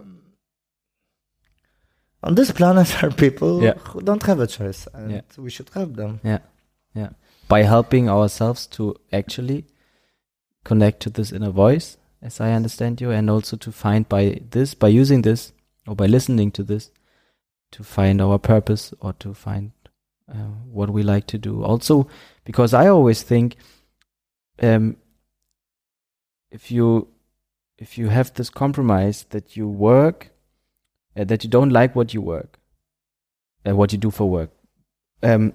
S1: on this planet are people
S2: yeah.
S1: who don't have a choice, and
S2: yeah.
S1: we should help them.
S2: Yeah, yeah. By helping ourselves to actually connect to this inner voice, as I understand you, and also to find by this, by using this, or by listening to this, to find our purpose or to find uh, what we like to do. Also, because I always think, um, if you if you have this compromise that you work, uh, that you don't like what you work, uh, what you do for work, um,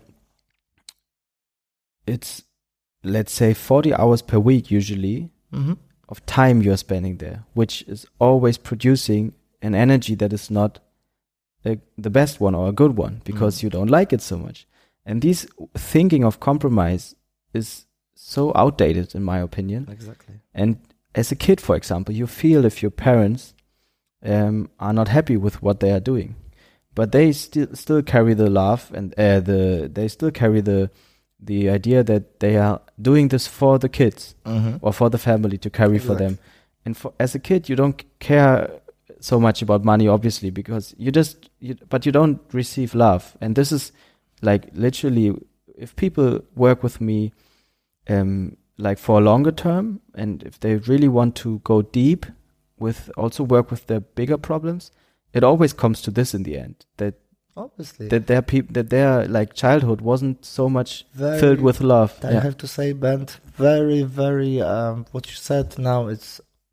S2: it's, let's say, forty hours per week usually
S1: mm-hmm.
S2: of time you're spending there, which is always producing an energy that is not a, the best one or a good one, because mm. you don't like it so much. And this thinking of compromise is so outdated, in my opinion.
S1: Exactly.
S2: And as a kid, for example, you feel if your parents um, are not happy with what they are doing, but they still still carry the love and uh, the they still carry the the idea that they are doing this for the kids
S1: mm-hmm.
S2: or for the family to carry
S1: exactly.
S2: for them. And for, as a kid, you don't care so much about money, obviously, because you just, you, but you don't receive love. And this is like literally, if people work with me, um, like for a longer term, and if they really want to go deep with, also work with their bigger problems, it always comes to this in the end, that
S1: obviously
S2: that their peop- that their like childhood wasn't so much
S1: very,
S2: filled with love.
S1: I
S2: yeah.
S1: have to say, Ben, very, very, um, what you said now, it's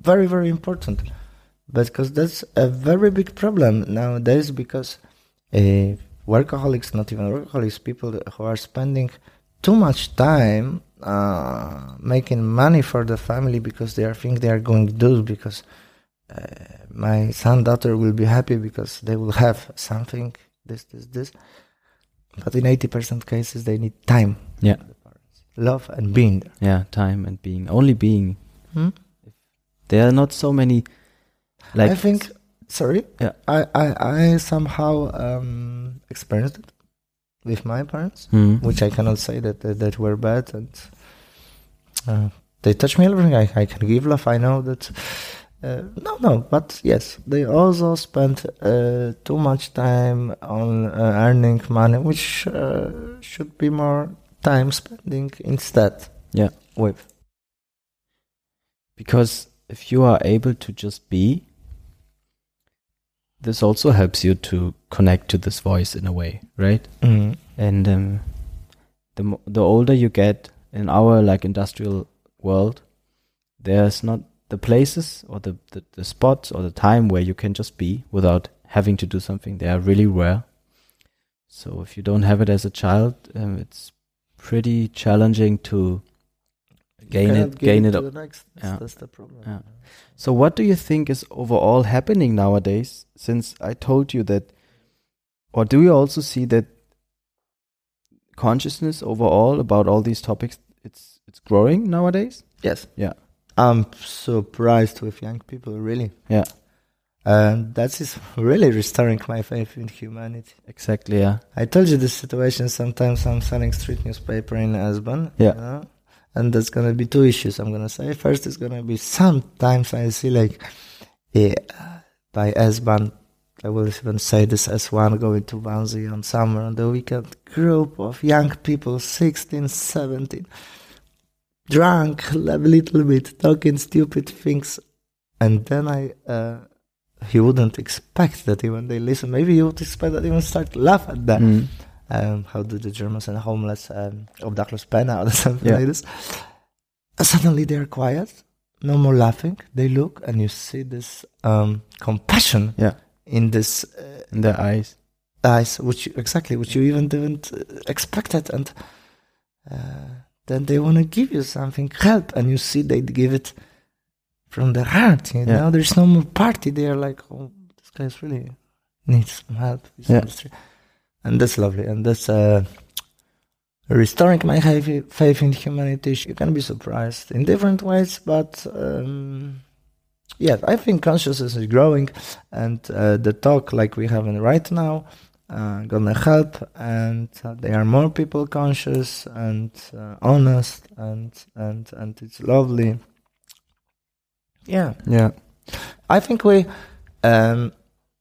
S1: very, very important. Because that's a very big problem nowadays, because uh, workaholics, not even workaholics, people who are spending too much time uh, making money for the family because they are think they are going to do, because uh, my son, daughter will be happy because they will have something, this, this, this. But in eighty percent cases, they need time.
S2: Yeah.
S1: Love and being there.
S2: Yeah, time and being. Only being.
S1: Hmm?
S2: There are not so many... Like
S1: I think, sorry,
S2: yeah.
S1: I, I, I somehow um, experienced it with my parents,
S2: Hmm.
S1: which I cannot say that that, that were bad, and uh, they touch me everything. I, I can give love. I know that. Uh, no, no, but yes, they also spend uh, too much time on uh, earning money, which uh, should be more time spending instead.
S2: Yeah.
S1: With.
S2: Because if you are able to just be, this also helps you to connect to this voice in a way, right?
S1: Mm.
S2: And um, the mo- the older you get in our like industrial world, there's not the places or the, the, the spots or the time where you can just be without having to do something. They are really rare. So if you don't have it as a child, um, it's pretty challenging to gain it. Gain it.
S1: To
S2: up.
S1: the next. That's,
S2: Yeah.
S1: that's the problem.
S2: Yeah. So what do you think is overall happening nowadays? Since I told you that, or do you also see that consciousness overall about all these topics, it's it's growing nowadays?
S1: Yes.
S2: Yeah.
S1: I'm surprised with young people, really.
S2: Yeah.
S1: And that is really restoring my faith in humanity.
S2: Exactly, yeah.
S1: I told you this situation. Sometimes I'm selling street newspaper in Esbon.
S2: Yeah.
S1: You know? And there's going to be two issues I'm going to say. First is going to be sometimes I see like, yeah, by S-Bahn, I will even say this S one going to Wannsee on summer on the weekend, group of young people, sixteen, seventeen, drunk a little bit, talking stupid things. And then I, uh, you wouldn't expect that even they listen. Maybe you would expect that even start to laugh at that.
S2: Mm.
S1: Um, how do the Germans and homeless, um, obdachlos penna or something
S2: Yeah.
S1: like this. Uh, suddenly they are quiet, no more laughing. They look and you see this um, compassion
S2: Yeah.
S1: in this uh,
S2: In their eyes.
S1: eyes, which you, exactly, which you even didn't uh, expect it. And uh, then they want to give you something, help, and you see they give it from the heart. You
S2: Yeah.
S1: know, there's no more party. They are like, oh, this guy's really needs some help. He's
S2: Yeah.
S1: on the street. And that's lovely. And that's uh, restoring my faith faith in humanity. You can be surprised in different ways, but um, yeah, I think consciousness is growing, and uh, the talk like we have right now uh, gonna help. And uh, there are more people conscious and uh, honest, and and and it's lovely. Yeah,
S2: Yeah.
S1: I think we. Um,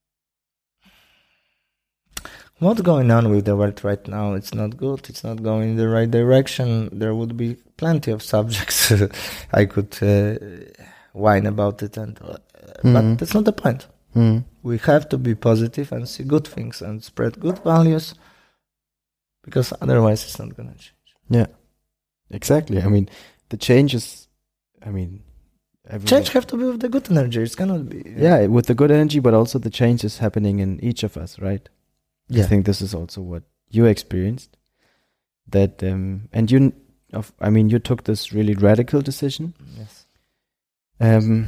S1: What's going on with the world right now? It's not good. It's not going in the right direction. There would be plenty of subjects I could uh, whine about it, and uh,
S2: Mhm.
S1: but that's not the point.
S2: Mm.
S1: We have to be positive and see good things and spread good values, because otherwise it's not gonna change.
S2: Yeah. Exactly. I mean, the changes, I mean, everyone-
S1: Change have to be with the good energy. It cannot be.
S2: Yeah, with the good energy, but also the change is happening in each of us, right?
S1: yeah.
S2: I think this is also what you experienced. That um, and you, of, I mean, you took this really radical decision.
S1: Yes.
S2: Um,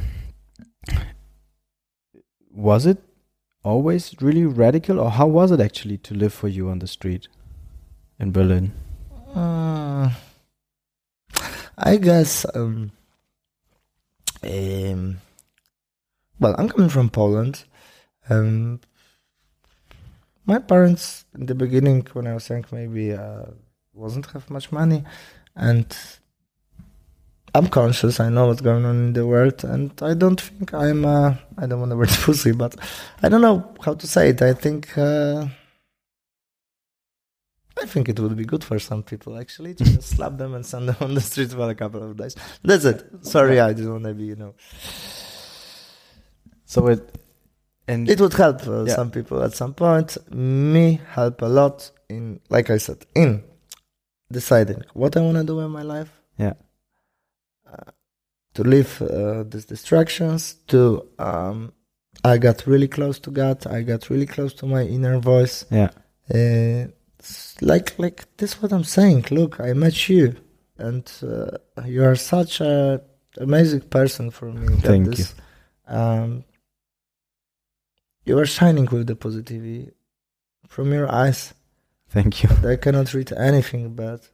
S2: was it always really radical, or how was it actually to live for you on the street in Berlin?
S1: Uh, I guess. Um, um, well, I'm coming from Poland. Um, my parents, in the beginning, when I was young, maybe uh, wasn't have much money, and I'm conscious. I know what's going on in the world, and I don't think I'm. Uh, I don't want to word pussy, but I don't know how to say it. I think. Uh, I think it would be good for some people, actually, to just slap them and send them on the street for a couple of days. That's it. Sorry, I didn't want to be, you know.
S2: So it, and
S1: It would help uh,
S2: Yeah.
S1: some people at some point. Me help a lot in, like I said, in deciding what I want to do in my life.
S2: Yeah.
S1: Uh, to leave uh, these distractions. To um, I got really close to God. I got really close to my inner voice.
S2: Yeah.
S1: Uh, it's like like this. What I'm saying. Look, I met you, and uh, you are such a amazing person for me. that
S2: Thank
S1: this, you. Um, you are shining with the positivity from your eyes.
S2: Thank you.
S1: I cannot read anything, but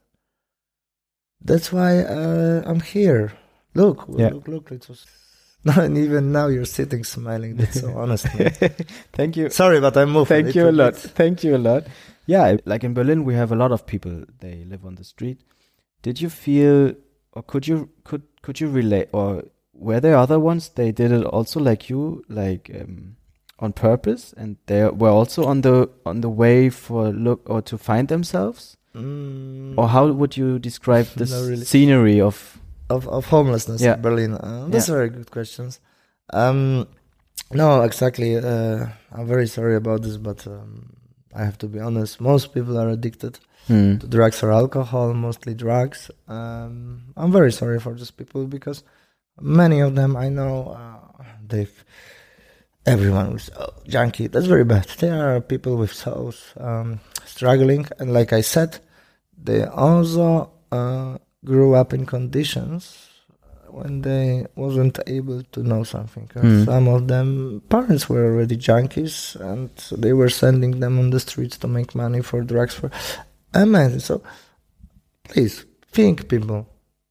S1: that's why uh, I'm here. Look,
S2: Yeah.
S1: look, look. It was. No, and even now you're sitting smiling. That's so honest. man.
S2: Thank you.
S1: Sorry, but I moved.
S2: Thank you a
S1: little
S2: lot.
S1: bit.
S2: Thank you a lot. Yeah, like in Berlin, we have a lot of people. They live on the street. Did you feel, or could you could could you relate, or were there other ones? They did it also like you, like um, on purpose, and they were also on the on the way for look or to find themselves.
S1: Mm,
S2: Or how would you describe this
S1: Not really.
S2: scenery of?
S1: of of homelessness
S2: Yeah.
S1: in Berlin? Uh, that's
S2: Yeah.
S1: very good questions. Um, no, exactly. Uh, I'm very sorry about this, but um, I have to be honest. Most people are addicted
S2: Hmm.
S1: to drugs or alcohol, mostly drugs. Um, I'm very sorry for these people because many of them I know uh, they've. Everyone was oh, junkie. That's very bad. There are people with souls um, struggling, and like I said, they also uh, grew up in conditions when they wasn't able to know something. Uh,
S2: Mm.
S1: Some of them parents were already junkies, and they were sending them on the streets to make money for drugs. For amazing. So please think, people,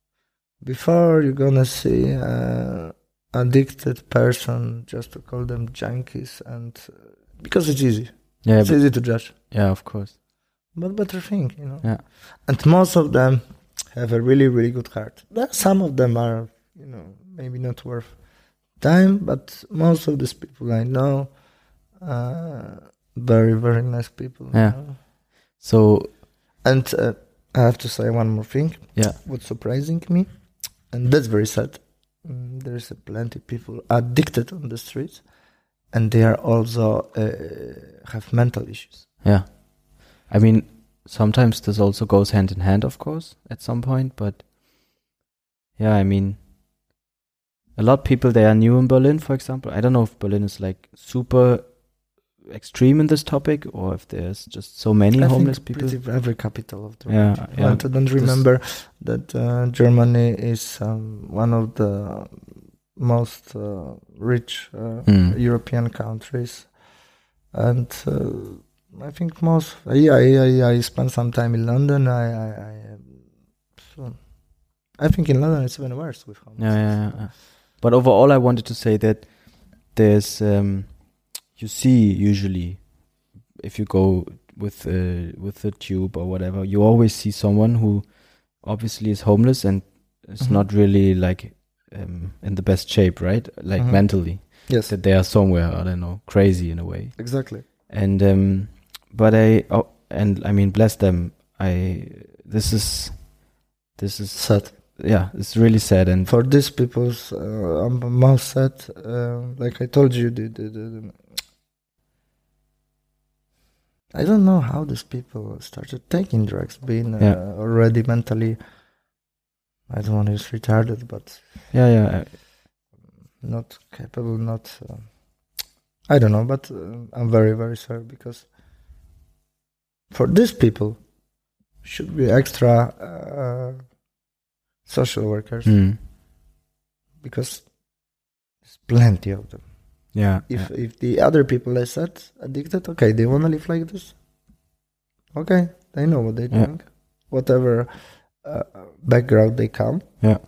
S1: before you're gonna see a addicted person, just to call them junkies, and uh, because it's easy,
S2: Yeah,
S1: it's
S2: but,
S1: easy to judge.
S2: yeah, of course.
S1: But better think, you know.
S2: Yeah.
S1: And most of them have a really, really good heart. There- Some of them are, you know, maybe not worth time, but most of these people I know, uh, very, very nice people. you
S2: Yeah.
S1: know.
S2: So
S1: And uh, I have to say one more thing.
S2: yeah,
S1: What's surprising me, and that's very sad, mm, there's a plenty people addicted on the streets, and they are also uh, have mental issues.
S2: yeah. I mean, sometimes this also goes hand in hand, of course, at some point. But yeah, I mean, a lot of people, they are new in Berlin, for example. I don't know if Berlin is like super extreme in this topic, or if there's just so many
S1: I
S2: homeless
S1: think
S2: people.
S1: pretty every capital of the
S2: Yeah,
S1: world.
S2: yeah.
S1: I don't remember that uh, Germany is um, one of the most uh, rich uh,
S2: Mm.
S1: European countries, and uh, I think most. I, I I I spent some time in London. I I, I um, so I think in London it's even worse with homeless.
S2: Yeah, yeah, yeah, yeah. But overall, I wanted to say that there's, um, you see, usually, if you go with uh, with the tube or whatever, you always see someone who obviously is homeless and is
S1: Mhm.
S2: not really like um, in the best shape, right? Like
S1: Mhm.
S2: mentally,
S1: Yes,
S2: that they are somewhere, I don't know, crazy in a way.
S1: exactly.
S2: And um, but I oh, and I mean, bless them. I this is this is
S1: Sad.
S2: yeah, it's really sad. And
S1: For these people's, uh, I'm most sad. Uh, like I told you, the, the, the, the I don't know how these people started taking drugs, being uh,
S2: Yeah.
S1: already mentally. I don't want to use retarded, but
S2: yeah, yeah, I-
S1: not capable, not. Uh, I don't know, but uh, I'm very, very sorry because for these people, should be extra uh, social workers
S2: mm,
S1: because there's plenty of them.
S2: yeah,
S1: If
S2: yeah.
S1: if the other people I said addicted, okay, they want to live like this. Okay, they know what they're
S2: Yeah.
S1: doing, whatever uh, background they come.
S2: Yeah.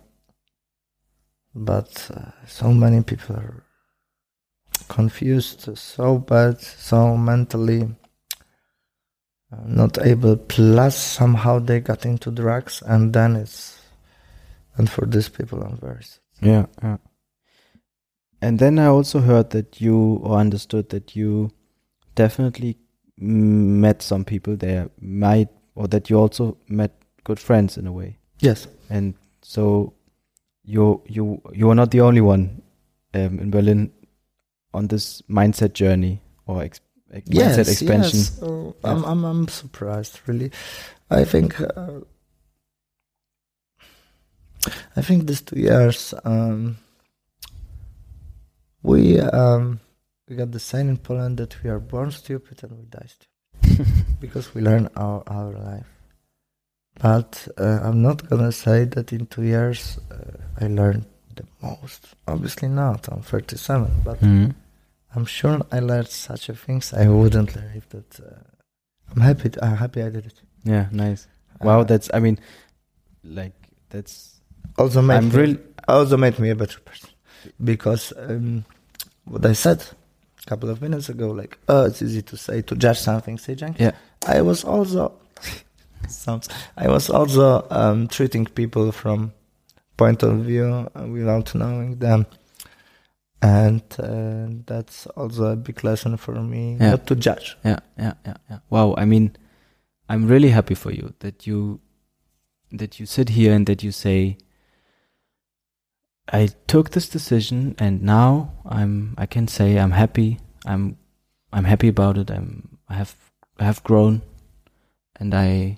S1: But uh, so many people are confused, so bad, so mentally uh, not able. Plus, somehow they got into drugs, and then it's. And for these people, I'm very sad.
S2: Yeah, yeah. And then I also heard that you, or understood that you definitely mm, met some people there, might, or that you also met good friends in a way.
S1: Yes.
S2: And so you you you are not the only one um, in Berlin on this mindset journey or ex- ex- mindset expansion.
S1: Yes. So
S2: Yeah.
S1: I'm, I'm, I'm surprised, really. I think uh, I think these two years, um, we um, we got the saying in Poland that we are born stupid and we die stupid because we learn our our life. But uh, I'm not gonna say that in two years uh, I learned the most. Obviously not. I'm thirty-seven, but
S2: Mm-hmm.
S1: I'm sure I learned such a things I wouldn't learn if that. Uh, I'm happy. t- I'm happy I did it.
S2: Yeah, nice. Wow,
S1: Uh,
S2: that's, I mean, like, that's,
S1: also made
S2: I'm
S1: me,
S2: really,
S1: also made me a better person because um, what I said a couple of minutes ago, like, oh, it's easy to say to judge something, say Cenk.
S2: yeah,
S1: I was also sounds. I was also um, treating people from point of view uh, without knowing them, and uh, that's also a big lesson for me
S2: Yeah.
S1: not to judge.
S2: yeah, yeah, yeah, yeah. Wow, I mean, I'm really happy for you that you, that you sit here and that you say, I took this decision and now I'm, I can say I'm happy. I'm, I'm happy about it. I'm, I have, I have grown, and I,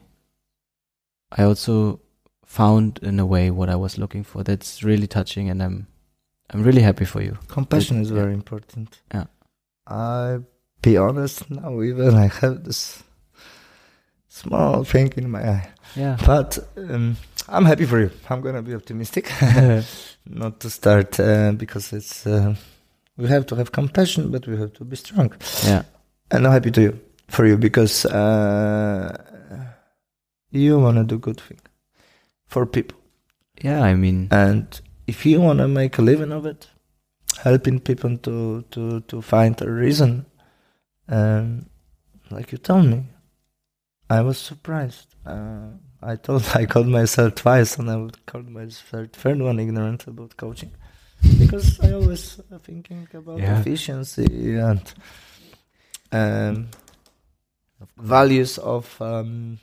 S2: I also found in a way what I was looking for. That's really touching, and I'm, I'm really happy for you.
S1: Compassion is
S2: Yeah.
S1: very important.
S2: Yeah.
S1: I be honest now, even I have this small thing in my eye,
S2: Yeah.
S1: but um, I'm happy for you. I'm gonna be optimistic. Not to start uh, because it's uh, we have to have compassion, but we have to be strong.
S2: Yeah.
S1: And I'm happy to you for you because uh, you wanna do good thing for people,
S2: Yeah. I mean,
S1: and if you wanna make a living of it, helping people to to to find a reason, um, like you told me, I was surprised. Uh, I told I called myself twice, and I would call myself third one ignorant about coaching, because I always uh, thinking about
S2: Yeah.
S1: efficiency and um, values of um,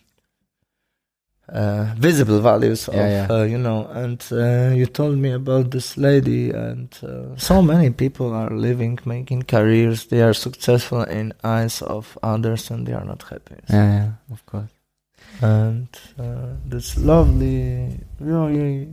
S1: uh, visible values of
S2: Yeah, yeah.
S1: Uh, you know. And uh, you told me about this lady, and uh, so many people are living, making careers. They are successful in eyes of others, and they are not happy.
S2: yeah, yeah, of course.
S1: And uh, this lovely, really,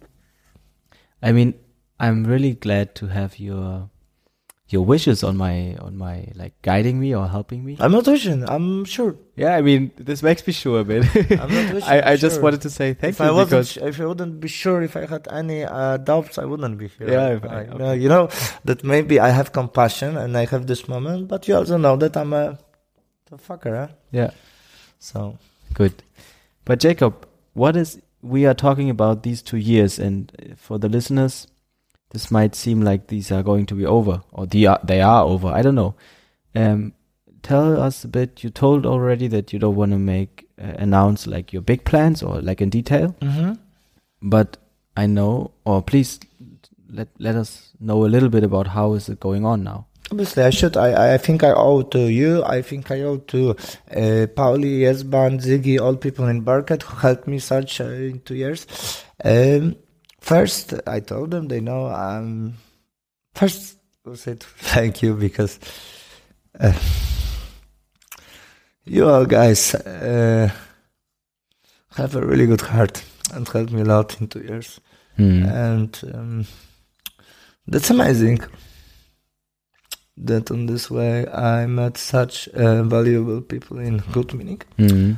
S2: I mean, I'm really glad to have your your wishes on my on my like guiding me or helping me.
S1: I'm not wishing. I'm sure.
S2: Yeah, I mean, this makes me sure, man.
S1: I'm not wishing.
S2: I, I
S1: I'm
S2: just
S1: sure.
S2: wanted to say thank
S1: if
S2: you
S1: I wasn't,
S2: because
S1: sh- if I wouldn't be sure, if I had any uh, doubts, I wouldn't be here.
S2: Yeah,
S1: I,
S2: if I-
S1: I
S2: okay.
S1: know, you know that maybe I have compassion and I have this moment, but you also know that I'm a, a fucker, huh?
S2: yeah,
S1: So
S2: good. But Jacob, what is we are talking about these two years, and for the listeners, this might seem like these are going to be over, or they are, they are over. I don't know. Um, tell us a bit. You told already that you don't want to make uh, announce like your big plans or like in detail,
S1: mm-hmm.
S2: but I know, or please let let us know a little bit about how is it going on now.
S1: Obviously, I should. I, I think I owe to you. I think I owe to uh, Pauli, Yesban, Ziggy, all people in Barket who helped me such uh, in two years. Um, first, I told them they know. Um, first, I said thank you because uh, you all guys uh, have a really good heart and helped me a lot in two years,
S2: Hmm.
S1: and um, that's amazing. That on this way I met such uh, valuable people in good meaning.
S2: Hmm.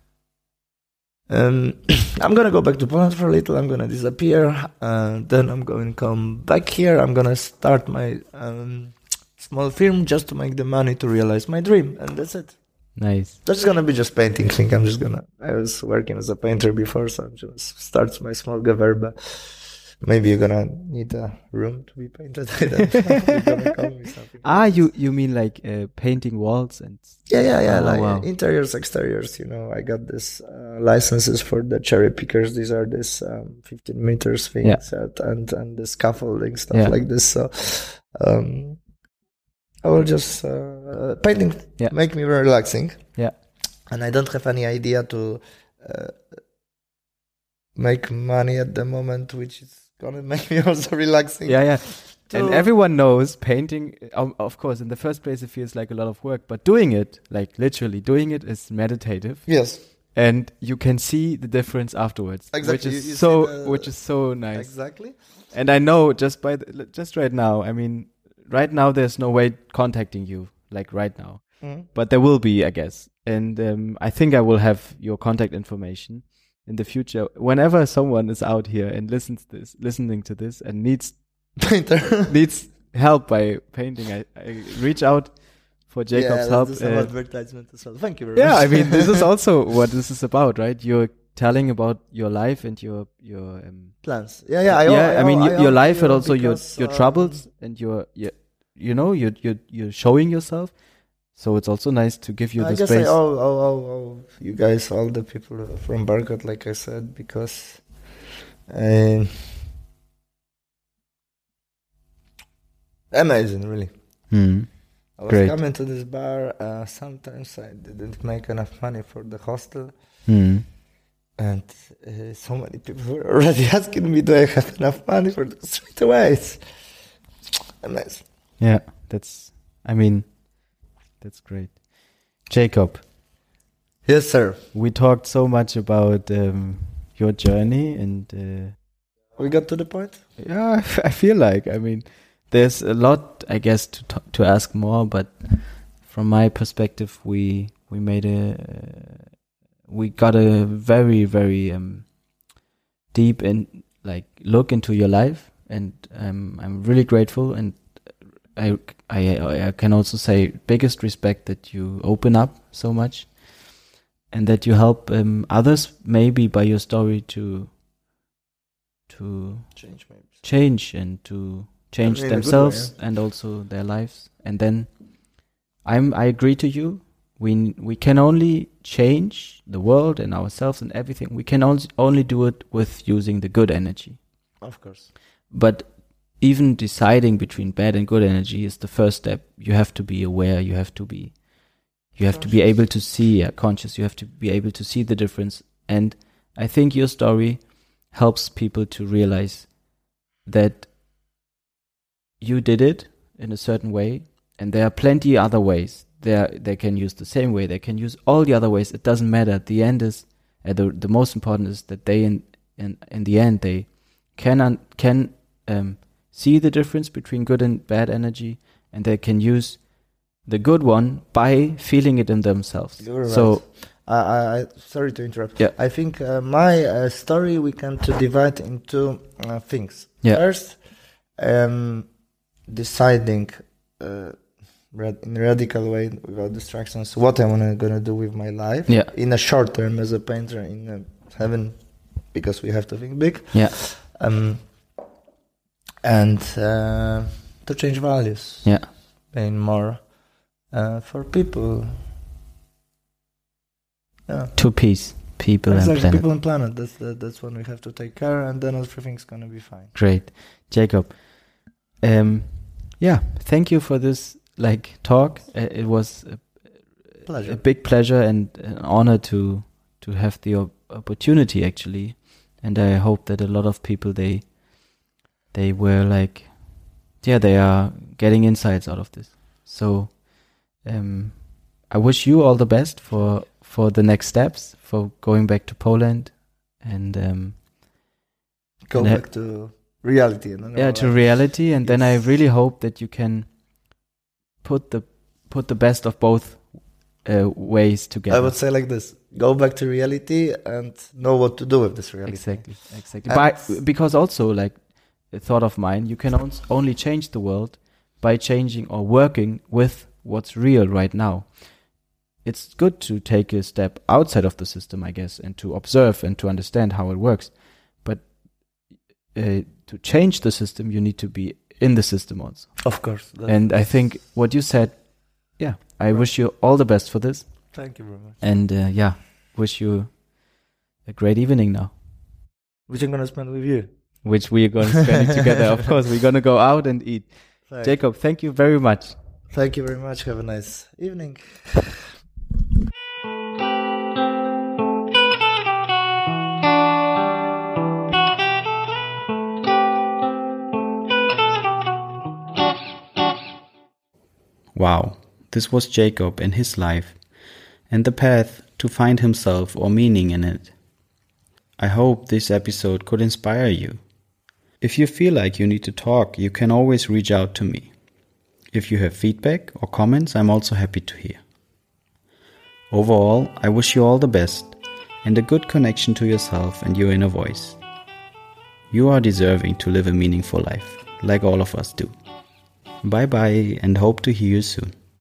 S1: Um, I'm gonna go back to Poland for a little. I'm gonna disappear, and then I'm going to come back here. I'm gonna start my um, small film just to make the money to realize my dream, and that's it.
S2: Nice.
S1: That's gonna be just painting thing. I'm just gonna. I was working as a painter before, so I'm just start my small Gewerbe. Maybe you're gonna need a room to be painted. I don't know. You're gonna call me something.
S2: Ah, you you mean like uh, painting walls and
S1: Yeah, yeah, yeah.
S2: Oh,
S1: like
S2: wow.
S1: interiors, exteriors. You know, I got this uh, licenses for the cherry pickers. These are this um, fifteen meters things,
S2: Yeah.
S1: and, and and the scaffolding stuff
S2: Yeah.
S1: like this. So, um, I will just uh, painting
S2: Yeah.
S1: make me very relaxing.
S2: Yeah.
S1: And I don't have any idea to uh, make money at the moment, which is gonna make me also relaxing.
S2: yeah, yeah.
S1: To-
S2: And everyone knows painting, um, of course, in the first place, it feels like a lot of work, but doing it, like literally doing it, is meditative.
S1: Yes.
S2: and you can see the difference afterwards,
S1: Exactly.
S2: which is
S1: You- you
S2: so
S1: see the-
S2: which is so nice.
S1: Exactly.
S2: And I know just by the, just right now, I mean, right now there's no way contacting you like right now,
S1: Mhm.
S2: but there will be, I guess. And um, I think I will have your contact information in the future. Whenever someone is out here and listens this, listening to this and needs
S1: Painter.
S2: needs help by painting, I, I reach out for Jacob's
S1: yeah,
S2: help.
S1: let's do some
S2: uh,
S1: advertisement as well. Thank you very
S2: yeah,
S1: much.
S2: I mean, this is also what this is about, right? You're telling about your life and your your um,
S1: plans. Yeah, yeah. I,
S2: yeah.
S1: I,
S2: I mean,
S1: I,
S2: y- your
S1: I,
S2: life,
S1: I,
S2: but also your
S1: because,
S2: your
S1: um,
S2: troubles and your, your you know, you're you're you're showing yourself. So it's also nice to give you
S1: I
S2: the
S1: guess
S2: space.
S1: I owe, owe, owe, owe you guys, all the people from Barcode, like I said, because um, amazing, really.
S2: Hmm.
S1: I was
S2: Great.
S1: coming to this bar. Uh, sometimes I didn't make enough money for the hostel,
S2: Hmm.
S1: and uh, so many people were already asking me, "Do I have enough money for the straight away?" It's amazing.
S2: Yeah, that's. I mean, that's great. Jacob,
S1: Yes, sir.
S2: we talked so much about um, your journey, and uh,
S1: We got to the point.
S2: yeah, I f- I feel like. I mean, there's a lot, I guess, to t- to ask more. But from my perspective, we we made a uh, we got a very very um, deep and like look into your life, and um, I'm really grateful. And I, I I can also say biggest respect that you open up so much, and that you help um, others maybe by your story to to
S1: Change maybe.
S2: change and to change
S1: I mean, in a good
S2: themselves
S1: way,
S2: and also their lives. And then I'm I agree to you. We n- we can only change the world and ourselves and everything. We can only only do it with using the good energy.
S1: Of course.
S2: But even deciding between bad and good energy is the first step. You have to be aware. You have to be, you have to be
S1: Conscious.
S2: able to see, yeah, conscious. You have to be able to see the difference. And I think your story helps people to realize that you did it in a certain way, and there are plenty other ways. There, they can use the same way. They can use all the other ways. It doesn't matter. The end is uh, the the most important is that they in in in the end they can un, can um. see the difference between good and bad energy, and they can use the good one by feeling it in themselves.
S1: You're right.
S2: So,
S1: I, I, I sorry to interrupt.
S2: Yeah.
S1: I think uh, my uh, story we can to divide into uh, things.
S2: Yeah.
S1: First, um, deciding uh, rad- in a radical way without distractions what I'm gonna do with my life.
S2: Yeah.
S1: In a short term as a painter in uh, heaven, because we have to think big.
S2: yeah,
S1: Um, and uh, to change values.
S2: yeah,
S1: Paying more uh, for people. Yeah.
S2: to peace, people
S1: Exactly,
S2: and planet.
S1: people and planet. That's the, that's when we have to take care, and then everything's gonna be fine.
S2: Great, Jacob. Um, yeah, thank you for this like talk. Uh, it was a,
S1: Pleasure.
S2: a big pleasure and an honor to to have the op- opportunity actually, and I hope that a lot of people they they were like, yeah, they are getting insights out of this. So, um, I wish you all the best for for the next steps, for going back to Poland, and um,
S1: Go
S2: and, uh,
S1: back to reality. And then
S2: yeah,
S1: all
S2: to
S1: that.
S2: reality. And then I
S1: Yes.
S2: really hope that you can put the put the best of both uh, ways together.
S1: I would say like this: go back to reality and know what to do with this reality.
S2: Exactly, exactly.
S1: And-
S2: By, because also, like a thought of mine, you can ons- only change the world by changing or working with what's real right now. It's good to take a step outside of the system, I guess, and to observe and to understand how it works. But uh, to change the system, you need to be in the system also.
S1: Of course. That-
S2: And I think what you said, yeah, I wish you all the best for this.
S1: Thank you very much.
S2: And uh, yeah, wish you a great evening now.
S1: Which I'm gonna spend with you.
S2: Which we are going to spend it together. Of course, we're going to go out and eat.
S1: Thank,
S2: Jacob, thank you very much.
S1: thank you very much. Have a nice evening.
S2: Wow, this was Jacob and his life and the path to find himself or meaning in it. I hope this episode could inspire you. If you feel like you need to talk, you can always reach out to me. If you have feedback or comments, I'm also happy to hear. Overall, I wish you all the best and a good connection to yourself and your inner voice. You are deserving to live a meaningful life, like all of us do. Bye bye, and hope to hear you soon.